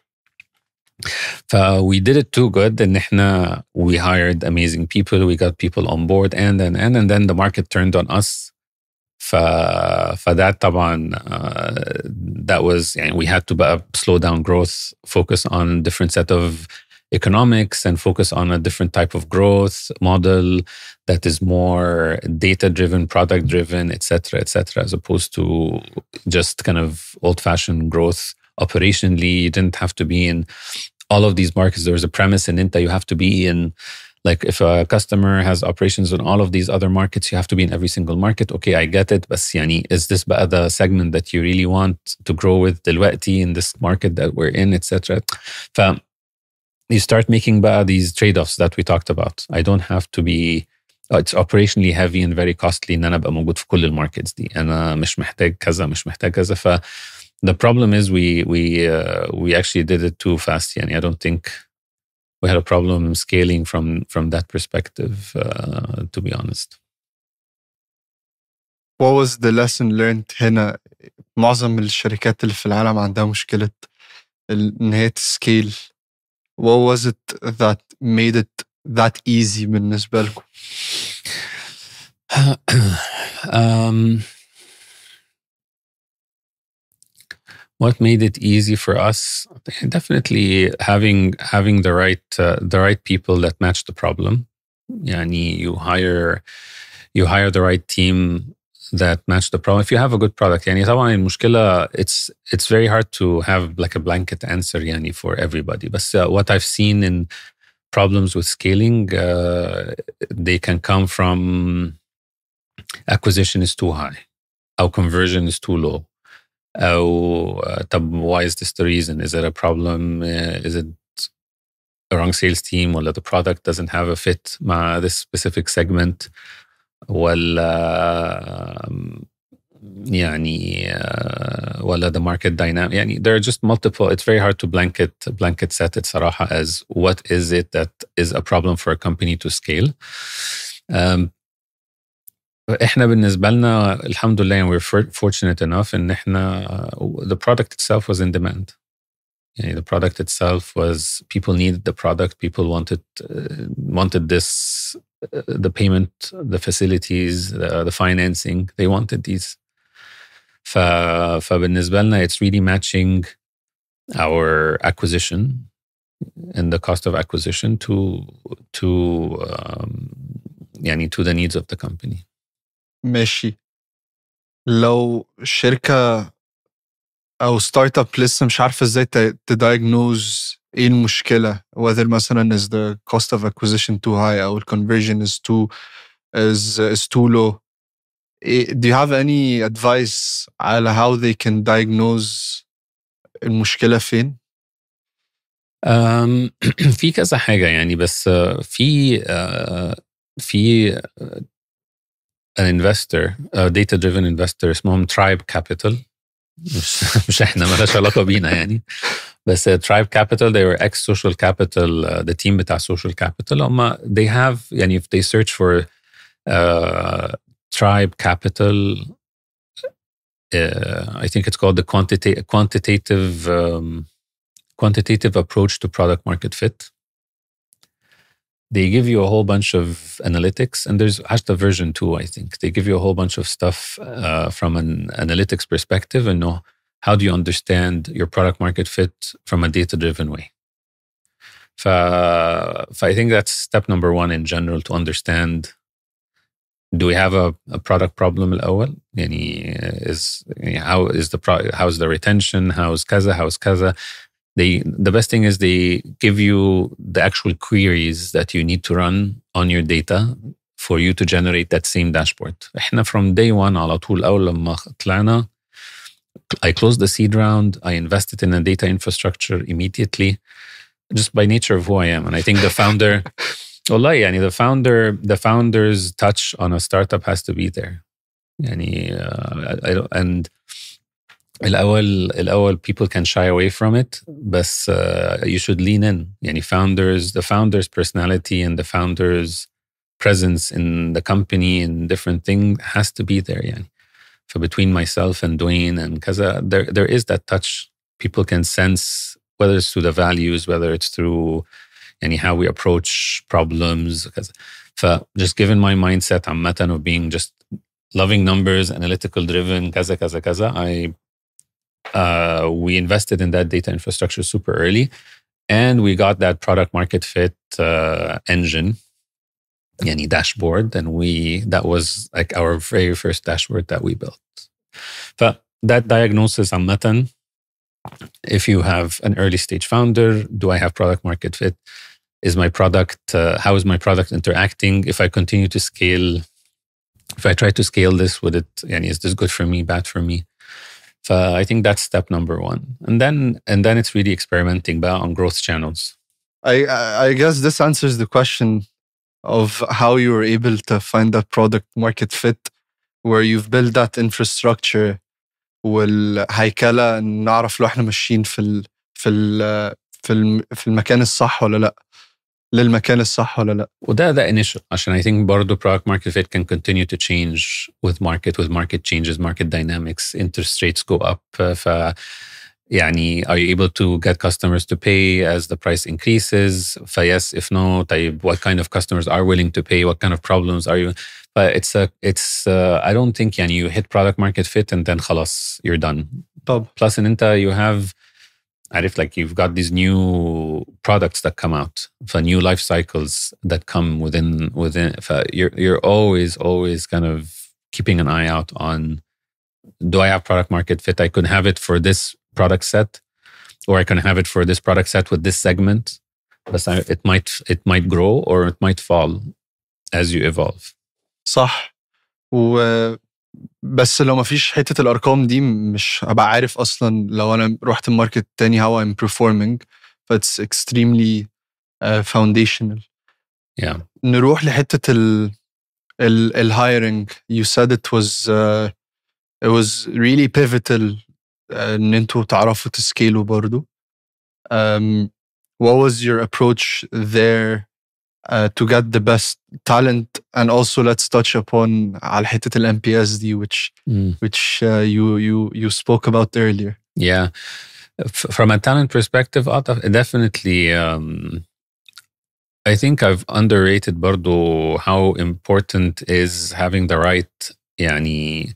So we did it too good, and احنا we hired amazing people, we got people on board, and and and, and then the market turned on us. ف فده طبعا uh, that was يعني we had to بقى slow down growth, focus on different set of economics, and focus on a different type of growth model that is more data driven, product driven, et cetera, et cetera, as opposed to just kind of old fashioned growth. Operationally, you didn't have to be in all of these markets. There was a premise in Inta, you have to be in, like if a customer has operations in all of these other markets, you have to be in every single market. Okay, I get it. But yani, is this the segment that you really want to grow with دلوقتي in this market that we're in, et cetera? So you start making these trade-offs that we talked about. I don't have to be, it's operationally heavy and very costly ان انا ابقى موجود في كل الماركتس دي. انا مش محتاج كذا مش محتاج كذا. ف the problem is we we uh, we actually did it too fast. Yani, I don't think we had a problem scaling from from that perspective, uh, to be honest. What was the lesson learned هنا؟ معظم الشركات اللي في العالم عندها مشكلة إن هي تسكيل. What was it that made it that easy بالنسبة لكم؟ um, What made it easy for us? Definitely having having the right uh, the right people that match the problem. Yani you hire you hire the right team that match the problem. If you have a good product, yani طبعاً المشكلة, it's it's very hard to have like a blanket answer yani for everybody. But uh, what I've seen in problems with scaling, uh, they can come from acquisition is too high, our conversion is too low. Oh, uh, why is this the reason? Is it a problem? Uh, is it a wrong sales team, or that the product doesn't have a fit ma this specific segment? ولا يعني uh, ولا the market dynamic. يعني there are just multiple. It's very hard to blanket blanket set it صراحة as what is it that is a problem for a company to scale. Um, احنا بالنسبة لنا الحمد لله we're fortunate enough ان احنا uh, the product itself was in demand. يعني the product itself was, people needed the product, people wanted uh, wanted this, uh, the payment, the facilities, the, the financing, they wanted these. ف, فبالنسبة لنا it's really matching our acquisition and the cost of acquisition to to um, يعني to the needs of the company. ماشي. لو شركة أو ستارت اب لسه مش عارفة ازاي تدايجنوز ايه المشكلة, whether مثلا is the cost of acquisition too high أو conversion is too is is too low, do you have any advice على how they can diagnose المشكلة فين؟ um, في كذا حاجة يعني, بس في uh, في uh, an investor, a data driven investor اسمهم Tribe Capital. مش مش احنا مالهاش علاقة بينا يعني, بس Tribe Capital, they were ex Social Capital, uh, the team بتاع Social Capital. هم they have يعني if they search for uh, Tribe Capital, uh, I think it's called the quantitative quantitative um, quantitative approach to product market fit. They give you a whole bunch of analytics, and there's actually version two, I think. They give you a whole bunch of stuff uh, from an analytics perspective, and know how do you understand your product market fit from a data-driven way. So, so I think that's step number one in general, to understand, do we have a, a product problem الأول? يعني is how is the pro, how's the retention? How's kaza? How's kaza? They, the best thing is they give you the actual queries that you need to run on your data for you to generate that same dashboard. احنا from day one على طول أول لما طلعنا, I closed the seed round, I invested in a data infrastructure immediately, just by nature of who I am. And I think the founder, والله يعني the founder, the founder's touch on a startup has to be there. يعني, uh, I, I don't, and الأول الأول people can shy away from it, but uh, you should lean in. يعني founders, the founder's personality and the founder's presence in the company and different thing has to be there. يعني. So between myself and Dwayne and Kaza, there there is that touch. People can sense whether it's through the values, whether it's through يعني how we approach problems. So just given my mindset عامة of being just loving numbers, analytical driven, kaza kaza kaza, I Uh, we invested in that data infrastructure super early, and we got that product market fit uh, engine, yani dashboard, and we that was like our very first dashboard that we built. But that diagnosis, amatan, if you have an early stage founder, do I have product market fit? Is my product uh, how is my product interacting? If I continue to scale, if I try to scale this, would it? Yani, is this good for me? Bad for me? So I think that's step number one. And then and then it's really experimenting on growth channels. I I guess this answers the question of how you were able to find that product market fit, where you've built that infrastructure والهيكلة نعرف لو احنا ماشيين في ال في ال في ال في المكان الصح ولا لا, للمكان الصح ولا لا. وده ده initial عشان I think برضو product market fit can continue to change with market, with market changes, market dynamics, interest rates go up. ف يعني are you able to get customers to pay as the price increases? ف yes, if no, طيب what kind of customers are willing to pay? What kind of problems are you? But it's a it's uh, I don't think يعني you hit product market fit and then خلاص you're done. طب. Plus in انت you have عارف like you've got these new products that come out, for new life cycles that come within within. You're you're always always kind of keeping an eye out on, do I have product market fit? I could have it for this product set, or I can have it for this product set with this segment. But it might it might grow or it might fall as you evolve. صح. و بس لو ما فيش حتة الأرقام دي مش هبقى عارف أصلا لو أنا رحت الماركت تاني how I'm performing. It's extremely uh, foundational. Yeah. نروح لحتة ال ال, ال hiring, you said it was uh, it was really pivotal uh, ان انتوا تعرفوا تسكيلوا برضو. Um, what was your approach there uh, to get the best talent? And also let's touch upon على حتة ال M P S دي which Mm. which uh, you you you spoke about earlier. Yeah. F- from a talent perspective, definitely, um, I think I've underrated برضو how important is having the right يعني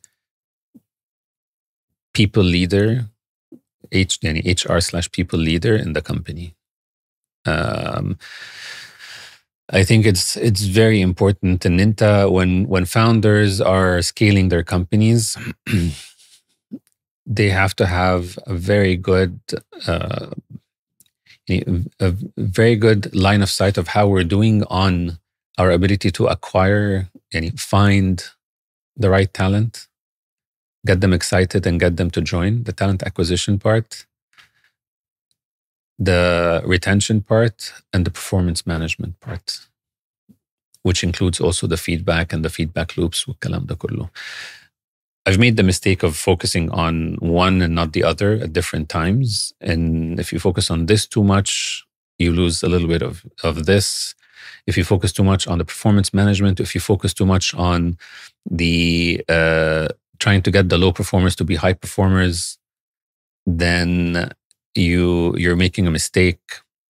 people leader, H, يعني H R slash people leader in the company. Um, I think it's it's very important in Ninta when when founders are scaling their companies, they have to have a very good uh, a very good line of sight of how we're doing on our ability to acquire and find the right talent, get them excited and get them to join, the talent acquisition part, the retention part, and the performance management part, which includes also the feedback and the feedback loops. I've made the mistake of focusing on one and not the other at different times. And if you focus on this too much, you lose a little bit of, of this. If you focus too much on the performance management, if you focus too much on the uh, trying to get the low performers to be high performers, then you, you're making a mistake.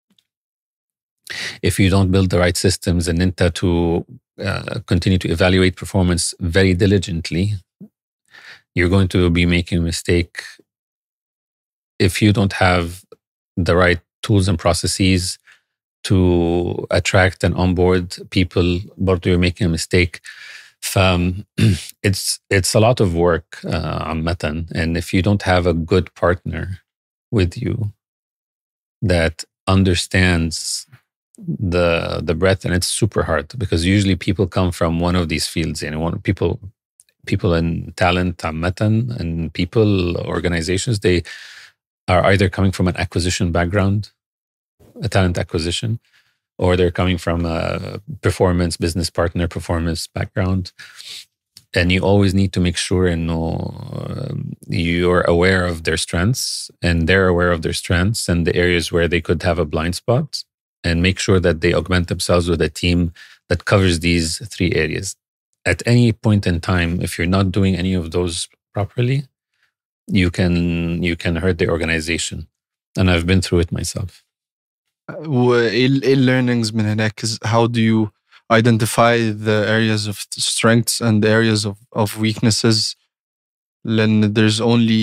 If you don't build the right systems and Ninta to uh, continue to evaluate performance very diligently, you're going to be making a mistake. If you don't have the right tools and processes to attract and onboard people, but you're making a mistake. Um, it's it's a lot of work, uh, and if you don't have a good partner with you that understands the the breadth, and it's super hard because usually people come from one of these fields, and one people. People in talent, and people, organizations, they are either coming from an acquisition background, a talent acquisition, or they're coming from a performance, business partner performance background. And you always need to make sure and know um, you're aware of their strengths and they're aware of their strengths and the areas where they could have a blind spot, and make sure that they augment themselves with a team that covers these three areas. At any point in time, if you're not doing any of those properly, you can you can hurt the organization. And I've been through it myself. ايه learnings من هناك? How do you identify the areas of strengths and the areas of, of weaknesses? Then there's only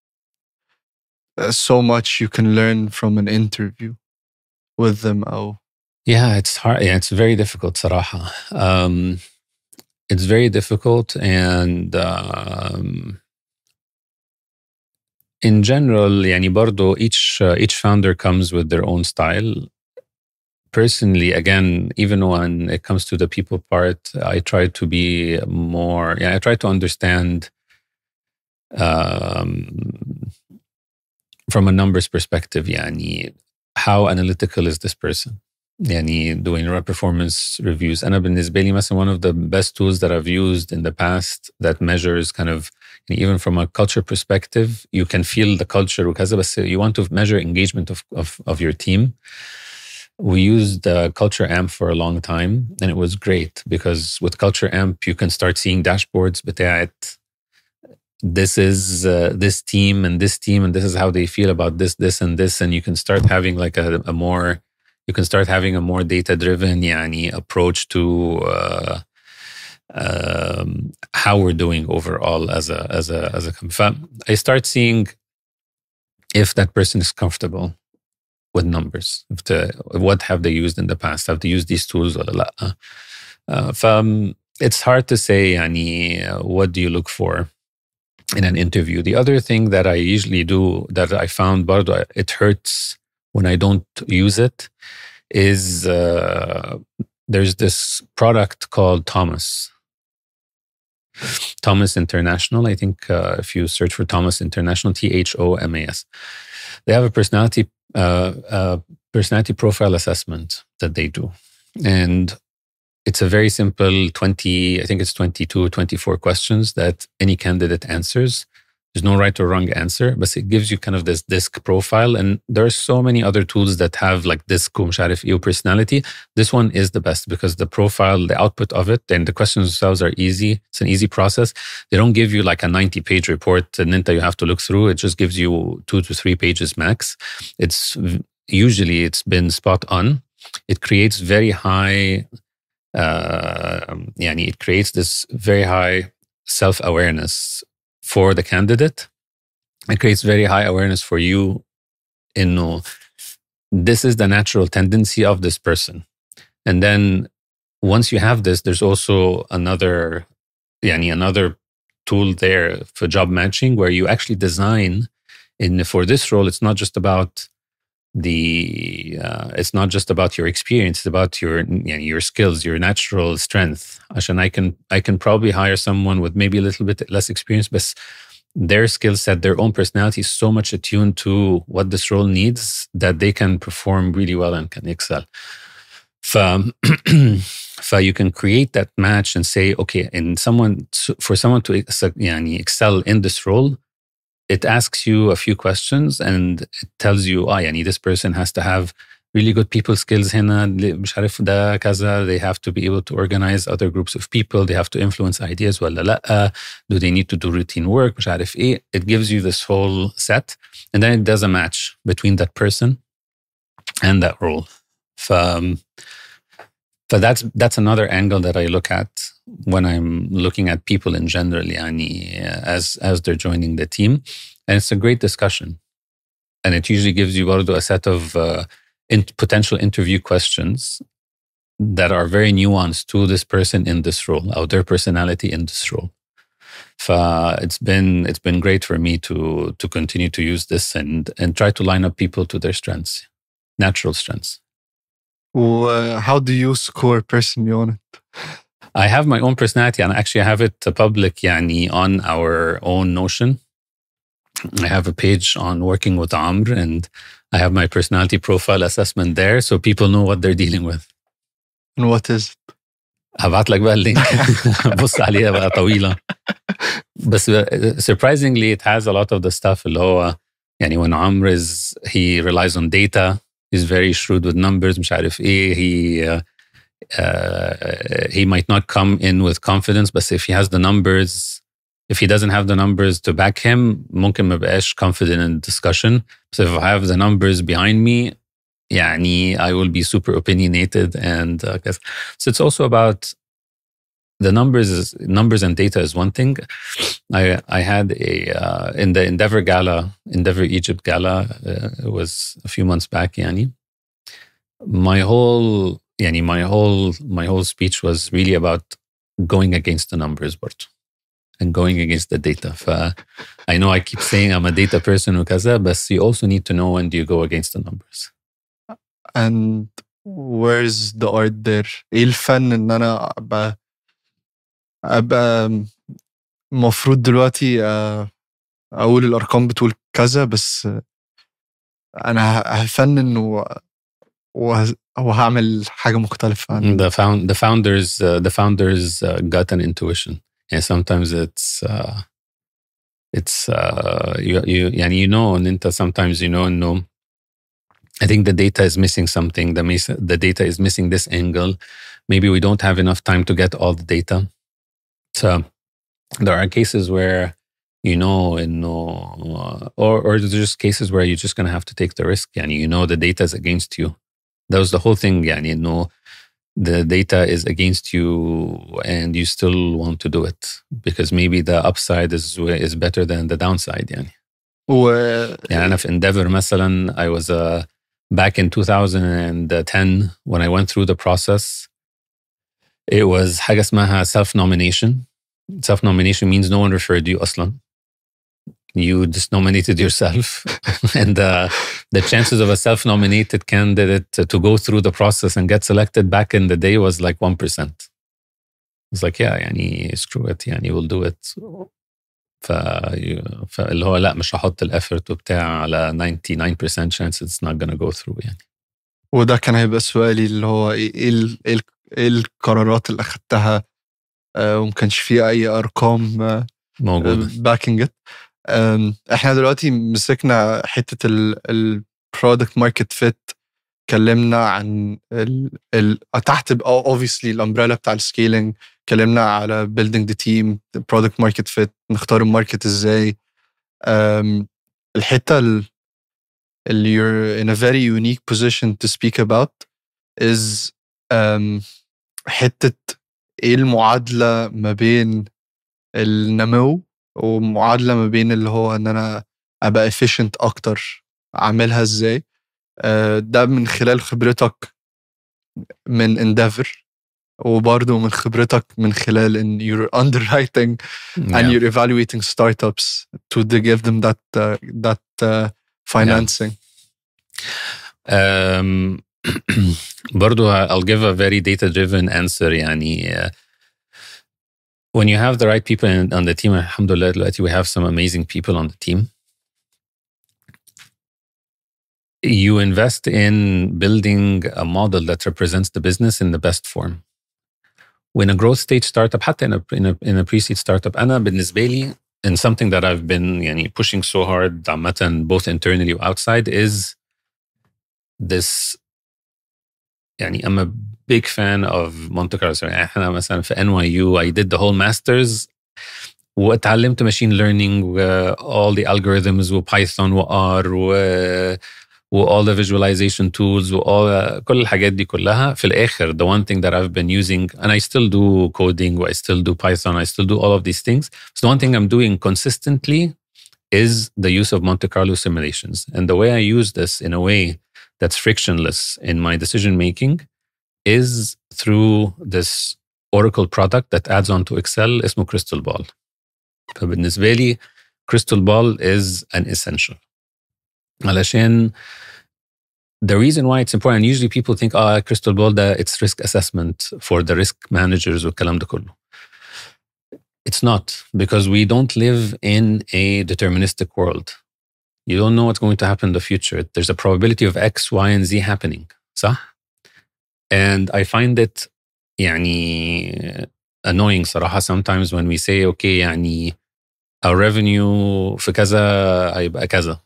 so much you can learn from an interview with them. Oh, yeah, it's hard. Yeah, it's very difficult, صراحة. Um, It's very difficult, and um, in general, يعني برضو each uh, each founder comes with their own style. Personally, again, even when it comes to the people part, I try to be more. Yeah, I try to understand um, from a numbers perspective. يعني how analytical is this person? يعني doing performance reviews. أنا بالنسبة لي مثلا one of the best tools that I've used in the past that measures kind of, even from a culture perspective, you can feel the culture وكذا, بس you want to measure engagement of, of, of your team. We used the Culture Amp for a long time, and it was great because with Culture Amp, you can start seeing dashboards بتاعت this is uh, this team and this team and this is how they feel about this, this and this, and you can start having like a, a more You can start having a more data-driven يعني, approach to uh, um, how we're doing overall as a as a as a company. I start seeing if that person is comfortable with numbers. If the, what have they used in the past? Have they used these tools or لا? Uh, it's hard to say يعني, what do you look for in an interview. The other thing that I usually do that I found برضو it hurts when I don't use it is uh, there's this product called Thomas. Thomas International. I think uh, if you search for Thomas International, T H O M A S, they have a personality uh, uh, personality profile assessment that they do. And it's a very simple twenty, I think it's twenty-two, twenty-four questions that any candidate answers. There's no right or wrong answer, but it gives you kind of this disc profile. And there are so many other tools that have like disc مش عارف إيه personality. This one is the best because the profile, the output of it, and the questions themselves are easy. It's an easy process. They don't give you like a ninety page report and then you have to look through. It just gives you two to three pages max. It's usually it's been spot on. It creates very high, uh, يعني it creates this very high self-awareness for the candidate. It creates very high awareness for you in no, this is the natural tendency of this person. And then once you have this, there's also another, yani another tool there for job matching where you actually design in for this role. It's not just about the, uh, it's not just about your experience. It's about your, yani your skills, your natural strength. And I can, I can probably hire someone with maybe a little bit less experience, but their skill set, their own personality is so much attuned to what this role needs that they can perform really well and can excel. So, so you can create that match and say, okay, and someone, for someone to yani, excel in this role, it asks you a few questions and it tells you, ah, yani, this person has to have really good people skills هنا, مش عارف ده كذا. They have to be able to organize other groups of people. They have to influence ideas ولا لأ. Do they need to do routine work? مش عارف إيه. It gives you this whole set. And then it does a match between that person and that role. So, so that's, that's another angle that I look at when I'm looking at people in general, yani, as, as they're joining the team. And it's a great discussion. And it usually gives you a set of uh, in potential interview questions that are very nuanced to this person in this role, or their personality in this role. So it's been it's been great for me to to continue to use this and and try to line up people to their strengths, natural strengths. Well, how do you score personally on it? I have my own personality, and actually I have it public, yani, on our own Notion. I have a page on working with Amr, and I have my personality profile assessment there, so people know what they're dealing with. And what is it? هبعت لك بقى اللينك. بص عليها بقى طويلة. But surprisingly, it has a lot of the stuff اللي هو يعني when Amr is, he relies on data. He's very shrewd with numbers. مش عارف إيه. He uh, uh, he might not come in with confidence, but if he has the numbers, if he doesn't have the numbers to back him, ممكن ما بقاش confident in discussion. So if I have the numbers behind me, يعني I will be super opinionated. And uh, so it's also about the numbers. Is, numbers and data is one thing. I I had a uh, in the Endeavor Gala, Endeavor Egypt Gala. Uh, it was a few months back. Yani, my whole yani my whole my whole speech was really about going against the numbers, but and going against the data. Uh, I know I keep saying I'm a data person, وكذا, but you also need to know when do you go against the numbers. And where's the art there? ايه الفن ان انا ابقى ابقى مفروض دلوقتي اقول الارقام بتقول كذا بس انا هفنن و وهعمل حاجة مختلفة عن the found the founders uh, the founders uh, got an intuition. And sometimes it's uh, it's uh, you you يعني you know and انت sometimes you know no. I think the data is missing something. The the data is missing this angle. Maybe we don't have enough time to get all the data. So there are cases where you know, in no, or or there's just cases where you're just gonna have to take the risk. And you know the data is against you. That was the whole thing. Yani, you know, the data is against you, and you still want to do it because maybe the upside is is better than the downside. Yani. و... يعني أنا في Endeavor مثلا I was uh, back in two thousand ten when I went through the process. It was حاجة اسمها self-nomination. Self-nomination means no one referred you أصلا. You just nominated yourself. And uh, the chances of a self-nominated candidate to, to go through the process and get selected back in the day was like one percent. It's like, yeah, يعني screw it, يعني we'll do it. ف... فاللي هو لا مش هحط الافورت وبتاع على ninety-nine percent chance it's not gonna go through يعني. وده كان هيبقى سؤالي اللي هو ايه ال... ايه القرارات اللي اخدتها آه، وما كانش فيه اي ارقام آه، موجودة. باكينج ات. احنا دلوقتي مسكنا حته البرودكت ماركت فيت، كلمنا عن ال ال تحت اوبفيسلي الامبريلا بتاع السكيلينج، كلمنا على building the team product market fit، نختار الماركت ازاي. um, الحته اللي you're in a very unique position to speak about is um, حته ايه المعادله ما بين النمو ومعادله ما بين اللي هو ان انا ابقى efficient اكتر، اعملها ازاي. uh, ده من خلال خبرتك من Endeavor، وبرضه من خبرتك من خلال ان you're underwriting yeah. and you're evaluating startups to give them that uh, that uh, financing. Yeah. Um, برضو I'll give a very data driven answer. يعني uh, when you have the right people in, on the team, alhamdulillah دلوقتي we have some amazing people on the team. You invest in building a model that represents the business in the best form. When a growth stage startup, حتى in a, in a, in a pre-seed startup, أنا بالنسبة لي, and something that I've been يعني, pushing so hard عامة both internally or outside, is this. يعني I'm a big fan of Monte Carlo. يعني احنا مثلا في N Y U I did the whole masters واتعلمت machine learning و all the algorithms و Python و R و, و all the visualization tools و all, كل الحاجات دي كلها. في الآخر the one thing that I've been using, and I still do coding, I still do Python, I still do all of these things. So the one thing I'm doing consistently is the use of Monte Carlo simulations. And the way I use this in a way that's frictionless in my decision making is through this Oracle product that adds on to Excel اسمه Crystal Ball. فبالنسبة لي Crystal Ball is an essential. علشان the reason why it's important, and usually people think, oh, Crystal Ball, that it's risk assessment for the risk managers والكلام ده كله. It's not, because we don't live in a deterministic world. You don't know what's going to happen in the future. There's a probability of X, Y, and Z happening. صح? And I find it يعني annoying صراحة sometimes when we say, okay, يعني our revenue في كذا هيبقى كذا.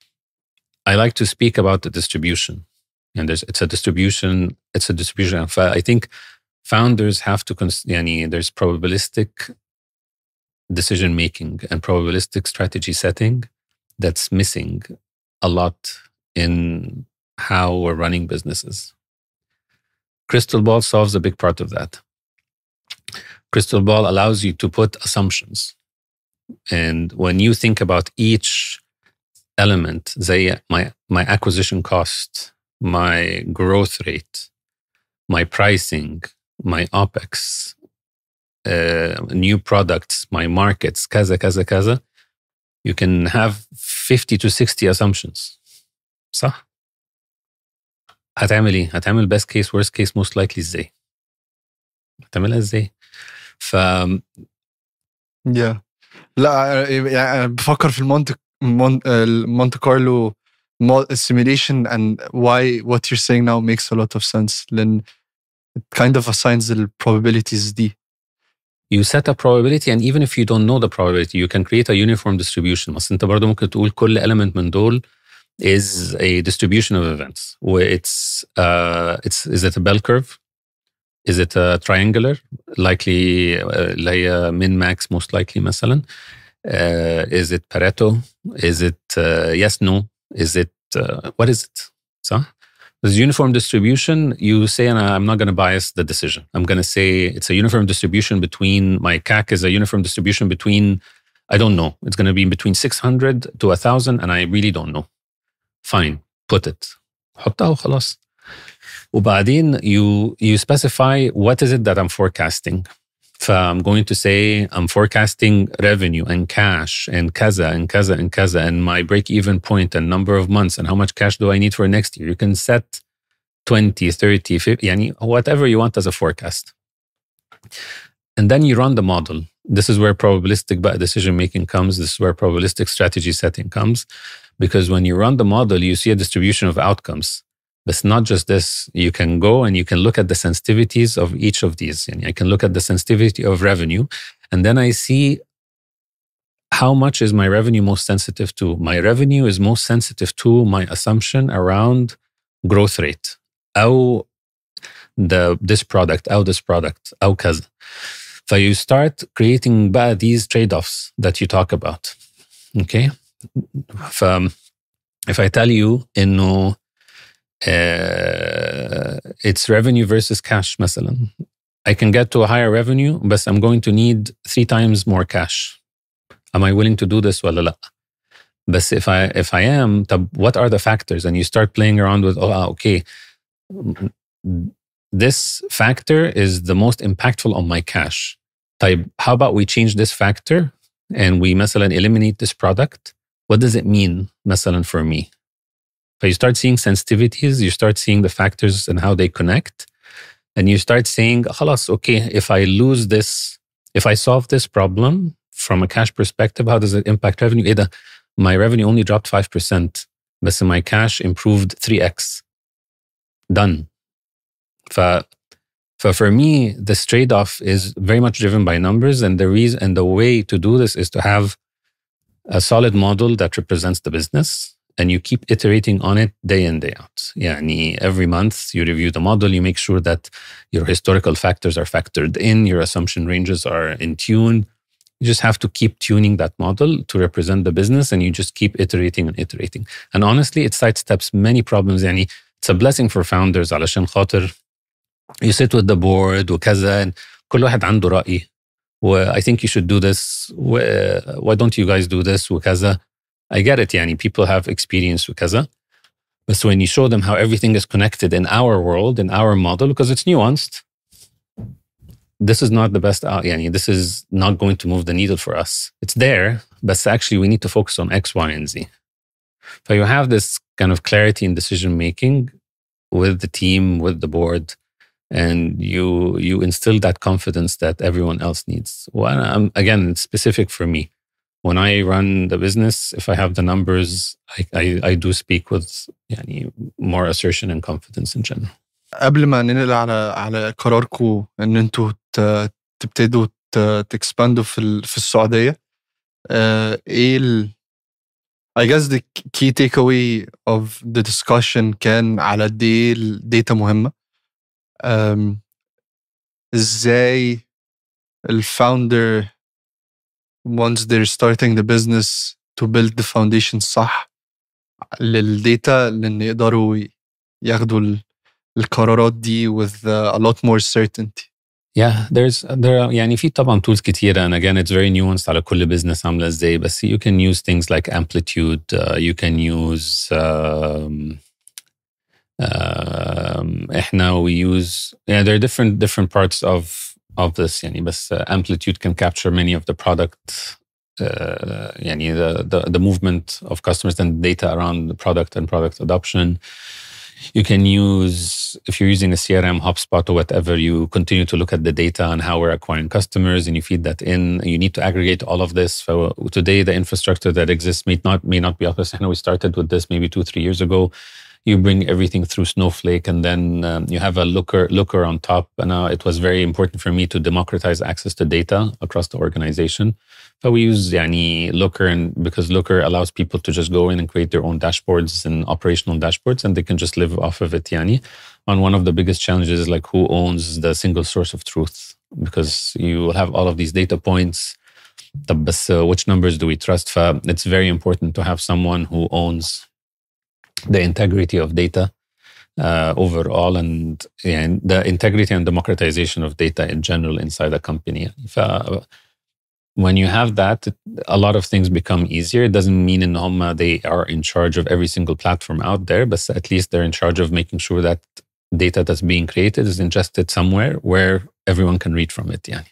I like to speak about the distribution. And there's, it's a distribution, it's a distribution. I think founders have to, cons- يعني there's probabilistic decision making and probabilistic strategy setting that's missing a lot in how we're running businesses. Crystal Ball solves a big part of that. Crystal Ball allows you to put assumptions. And when you think about each element, زي my, my acquisition cost, my growth rate, my pricing, my OpEx, uh, new products, my markets, كذا كذا كذا, you can have fifty to sixty assumptions. صح؟ هتعمل ايه؟ هتعمل best case, worst case, most likely ازاي؟ هتعملها ازاي؟ ف yeah. لا يعني أنا بفكر في المونت مونت كارلو simulation, and why what you're saying now makes a lot of sense. لأن it kind of assigns the probabilities دي. You set a probability, and even if you don't know the probability, you can create a uniform distribution. بس انت برضو ممكن تقول كل element من دول is a distribution of events. Where it's uh, it's is it a bell curve? Is it a triangular? Likely, اللي هي min max most likely مثلا. Uh, is it Pareto? Is it uh, yes no? Is it uh, what is it? So this uniform distribution, you say, and I'm not going to bias the decision. I'm going to say it's a uniform distribution between, my C A C is a uniform distribution between, I don't know. It's going to be between six hundred to one thousand, and I really don't know. Fine, put it. حطها وخلاص. وبعدين you you specify what is it that I'm forecasting. So I'm going to say I'm forecasting revenue and cash and kaza and kaza and kaza and my break-even point and number of months and how much cash do I need for next year. You can set twenty, thirty, fifty, yani whatever you want as a forecast. And then you run the model. This is where probabilistic decision-making comes. This is where probabilistic strategy setting comes. Because when you run the model, you see a distribution of outcomes. But not just this, you can go and you can look at the sensitivities of each of these. And I can look at the sensitivity of revenue, and then I see how much is my revenue most sensitive to. My revenue is most sensitive to my assumption around growth rate. أو the this product, أو this product, أو كذا. So you start creating بقى these trade-offs that you talk about. Okay? So if I tell you إنه Uh, it's revenue versus cash مثلا. I can get to a higher revenue, but I'm going to need three times more cash. Am I willing to do this ولا لا? But if I if I am, what are the factors? And you start playing around with, oh, okay, this factor is the most impactful on my cash. طيب, how about we change this factor and we مثلا eliminate this product? What does it mean مثلا for me? So you start seeing sensitivities, you start seeing the factors and how they connect, and you start saying, خلاص, okay, if I lose this, if I solve this problem from a cash perspective, how does it impact revenue? إيه ده? My revenue only dropped five percent, but my cash improved three x. Done. So, so for me, this trade-off is very much driven by numbers, and the reason and the way to do this is to have a solid model that represents the business. And you keep iterating on it day in, day out. Yani every month you review the model, you make sure that your historical factors are factored in, your assumption ranges are in tune. You just have to keep tuning that model to represent the business, and you just keep iterating and iterating. And honestly, it sidesteps many problems. Yani it's a blessing for founders علشان خاطر you sit with the board وكذا, and كل واحد عنده رأي. I think you should do this. Why don't you guys do this وكذا? I get it, yani people have experience وكذا. But so when you show them how everything is connected in our world, in our model, because it's nuanced, this is not the best, yani this is not going to move the needle for us. It's there, but actually we need to focus on X, Y, and Z. So you have this kind of clarity in decision-making with the team, with the board, and you you instill that confidence that everyone else needs. Well, I'm, again, it's specific for me. When I run the business, if I have the numbers, I, I, I do speak with يعني, more assertion and confidence in general. قبل ما ننقل على على قراركم ان انتوا تبتدوا تكسباندوا في في السعودية، ايه ال I guess the key takeaway of the discussion كان على قد ايه الداتا مهمة، ازاي الفاوندر once they're starting the business to build the foundation صح للداتا لأن يقدروا ياخدوا القرارات دي with a lot more certainty. Yeah, there's there are يعني في طبعا tools كتيرة, and again it's very nuanced على كل business عاملة ازاي, بس you can use things like Amplitude, uh, you can use um, um, احنا we use yeah there are different different parts of of this يعني بس uh, Amplitude can capture many of the product uh, يعني the, the the movement of customers and data around the product and product adoption. You can use, if you're using a C R M, HubSpot or whatever, you continue to look at the data and how we're acquiring customers, and you feed that in. You need to aggregate all of this. So today, the infrastructure that exists may not may not be up. I know we started with this maybe two, three years ago. You bring everything through Snowflake, and then um, you have a looker looker on top. And uh, it was very important for me to democratize access to data across the organization. So we use yani, Looker, and because Looker allows people to just go in and create their own dashboards and operational dashboards, and they can just live off of it. Yani. And one of the biggest challenges is like who owns the single source of truth, because you have all of these data points. But uh, which numbers do we trust? So it's very important to have someone who owns the integrity of data uh, overall, and, and the integrity and democratization of data in general inside a company. So, when you have that, a lot of things become easier. It doesn't mean in Homa they are in charge of every single platform out there, but at least they're in charge of making sure that data that's being created is ingested somewhere where everyone can read from it. يعني.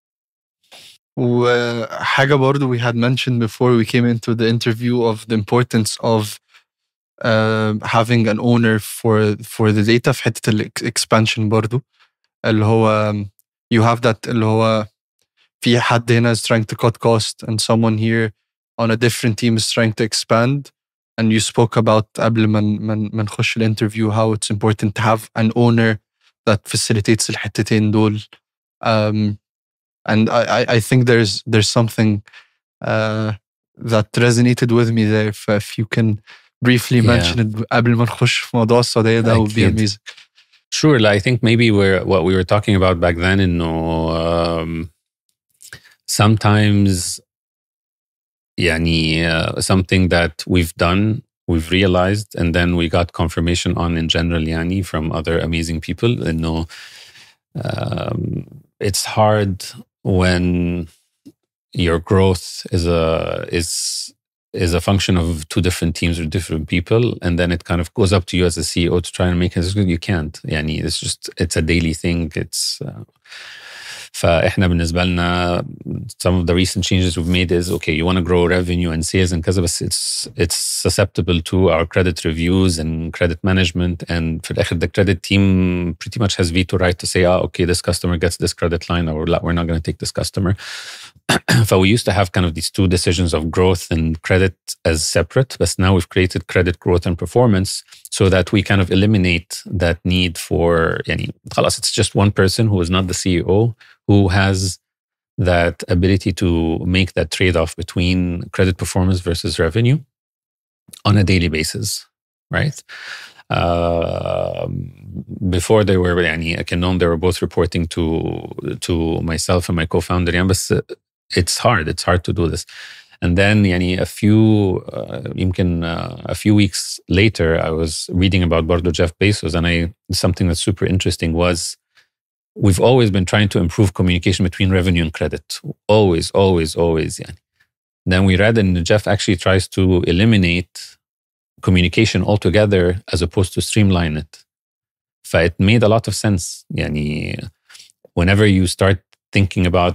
وحاجة برضو we had mentioned before we came into the interview of the importance of uh, having an owner for for the data في حتة الexpansion برضو اللي هو you have that اللي هو في حد هنا is trying to cut cost and someone here on a different team is trying to expand, and you spoke about قبل ما ما ما نخش الانترفيو how it's important to have an owner that facilitates الحتتين دول. Um, and I, I, I think there's there's something uh, that resonated with me there. If, if you can briefly Yeah. mention it قبل ما نخش في موضوع السعودية, that would be أكيد. amazing. Sure. I think maybe we're what we were talking about back then. In um, sometimes, يعني, uh, something that we've done, we've realized, and then we got confirmation on in general, yani, from other amazing people. And no, um, it's hard when your growth is a is is a function of two different teams or different people, and then it kind of goes up to you as a C E O to try and make it. You can't. Yani, it's just it's a daily thing. It's uh, فإحنا بالنسبة لنا some of the recent changes we've made is okay, you want to grow revenue and sales and كذا, بس it's it's susceptible to our credit reviews and credit management, and في الآخر the credit team pretty much has veto right to say, ah, okay, this customer gets this credit line, or we're not going to take this customer. So we used to have kind of these two decisions of growth and credit as separate, but now we've created credit growth and performance so that we kind of eliminate that need for, يعني, خلاص, it's just one person who is not the C E O who has that ability to make that trade-off between credit performance versus revenue on a daily basis, right? Uh, before they were, يعني, I can know they were both reporting to to myself and my co-founder, yeah, but it's hard. It's hard to do this. And then, يعني, a few, uh, يمكن, uh, a few weeks later, I was reading about برضو Jeff Bezos, and I something that's super interesting was we've always been trying to improve communication between revenue and credit. Always, always, always. يعني. Then we read, and Jeff actually tries to eliminate communication altogether as opposed to streamline it. So it made a lot of sense. يعني, whenever you start thinking about,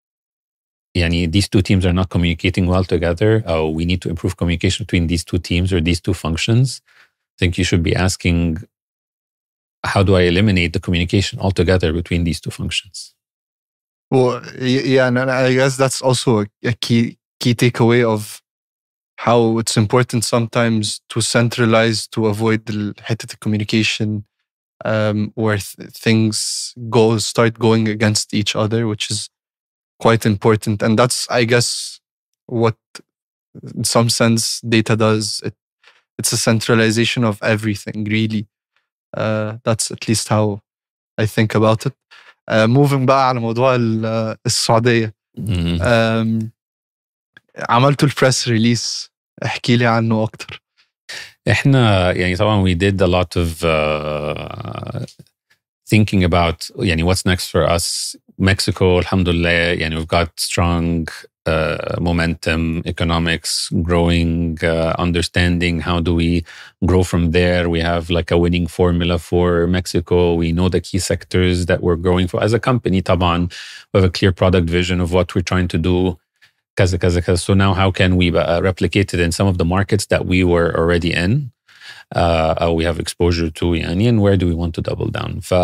يعني, these two teams are not communicating well together, oh, we need to improve communication between these two teams or these two functions, I think you should be asking, how do I eliminate the communication altogether between these two functions? Well, yeah, and I guess that's also a key key takeaway of how it's important sometimes to centralize to avoid the حتة communication um, where th- things go start going against each other, which is quite important. And that's, I guess, what in some sense data does. It, it's a centralization of everything, really. Uh, that's at least how I think about it. Uh, moving بقى على موضوع ال- السعودية. Mm. um, عملتوا البريس ريليس، احكي لي عنه أكتر. احنا يعني طبعا we did a lot of uh, thinking about يعني what's next for us. Mexico, alhamdulillah, يعني we've got strong uh, momentum, economics, growing uh, understanding. How do we grow from there? We have like a winning formula for Mexico. We know the key sectors that we're growing for as a company. طبعا we have a clear product vision of what we're trying to do. كذا كذا كذا. So now how can we uh, replicate it in some of the markets that we were already in? Uh, we have exposure to, يعني, and where do we want to double down? ف,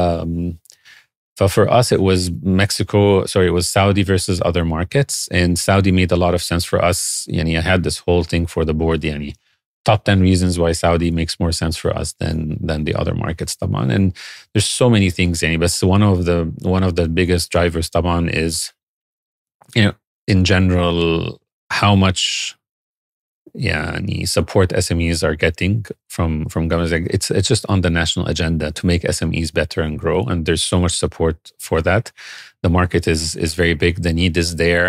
ف for us, it was Mexico, sorry, it was Saudi versus other markets. And Saudi made a lot of sense for us. يعني, I had this whole thing for the board. يعني, top ten reasons why Saudi makes more sense for us than than the other markets. طبعا. And there's so many things. يعني, but one of the one of the biggest drivers طبعا is, you know, in general, how much يعني, support S M Es are getting from from governments. It's it's just on the national agenda to make S M Es better and grow, and there's so much support for that. The market is is very big. The need is there.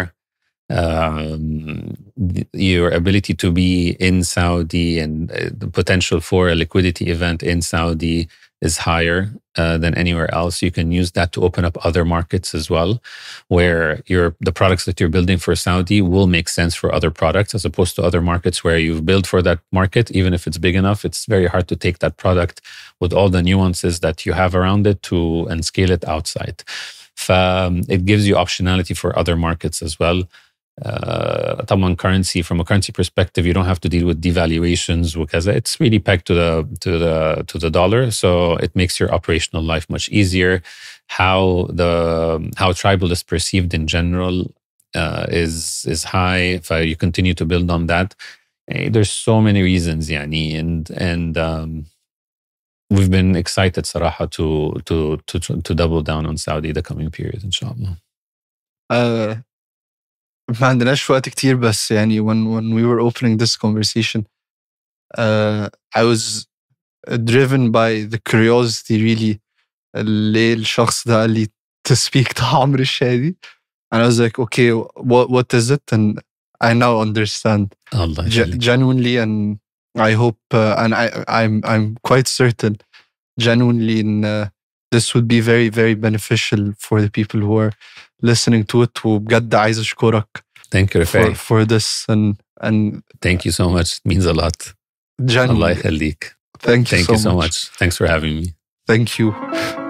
Um, your ability to be in Saudi and the potential for a liquidity event in Saudi is higher uh, than anywhere else. You can use that to open up other markets as well, where your the products that you're building for Saudi will make sense for other products, as opposed to other markets where you've built for that market. Even if it's big enough, it's very hard to take that product with all the nuances that you have around it to and scale it outside. Um, it gives you optionality for other markets as well. Uh, طبعا currency, from a currency perspective, you don't have to deal with devaluations because it's really pegged to the to the to the dollar, so it makes your operational life much easier. How the how tribal is perceived in general uh, is is high. If you continue to build on that, Hey, there's so many reasons يعني and and um, we've been excited صراحة to to to to double down on Saudi the coming period إن شاء الله. uh, ما عندناش وقت كتير بس يعني when when we were opening this conversation uh, I was driven by the curiosity really اللي الشخص ده قال لي to speak to عمرو الشادي and I was like okay what what is it and I now understand الله Ge- يخليك. genuinely and I hope uh, and I I'm I'm quite certain genuinely in uh, this would be very very beneficial for the people who are listening to it وبجد عايز أشكرك Thank you for, Rafai. for this and and Thank you so much. It means a lot. الله genuinely يخليك. thank you Thank so you so much. much. Thanks for having me. Thank you.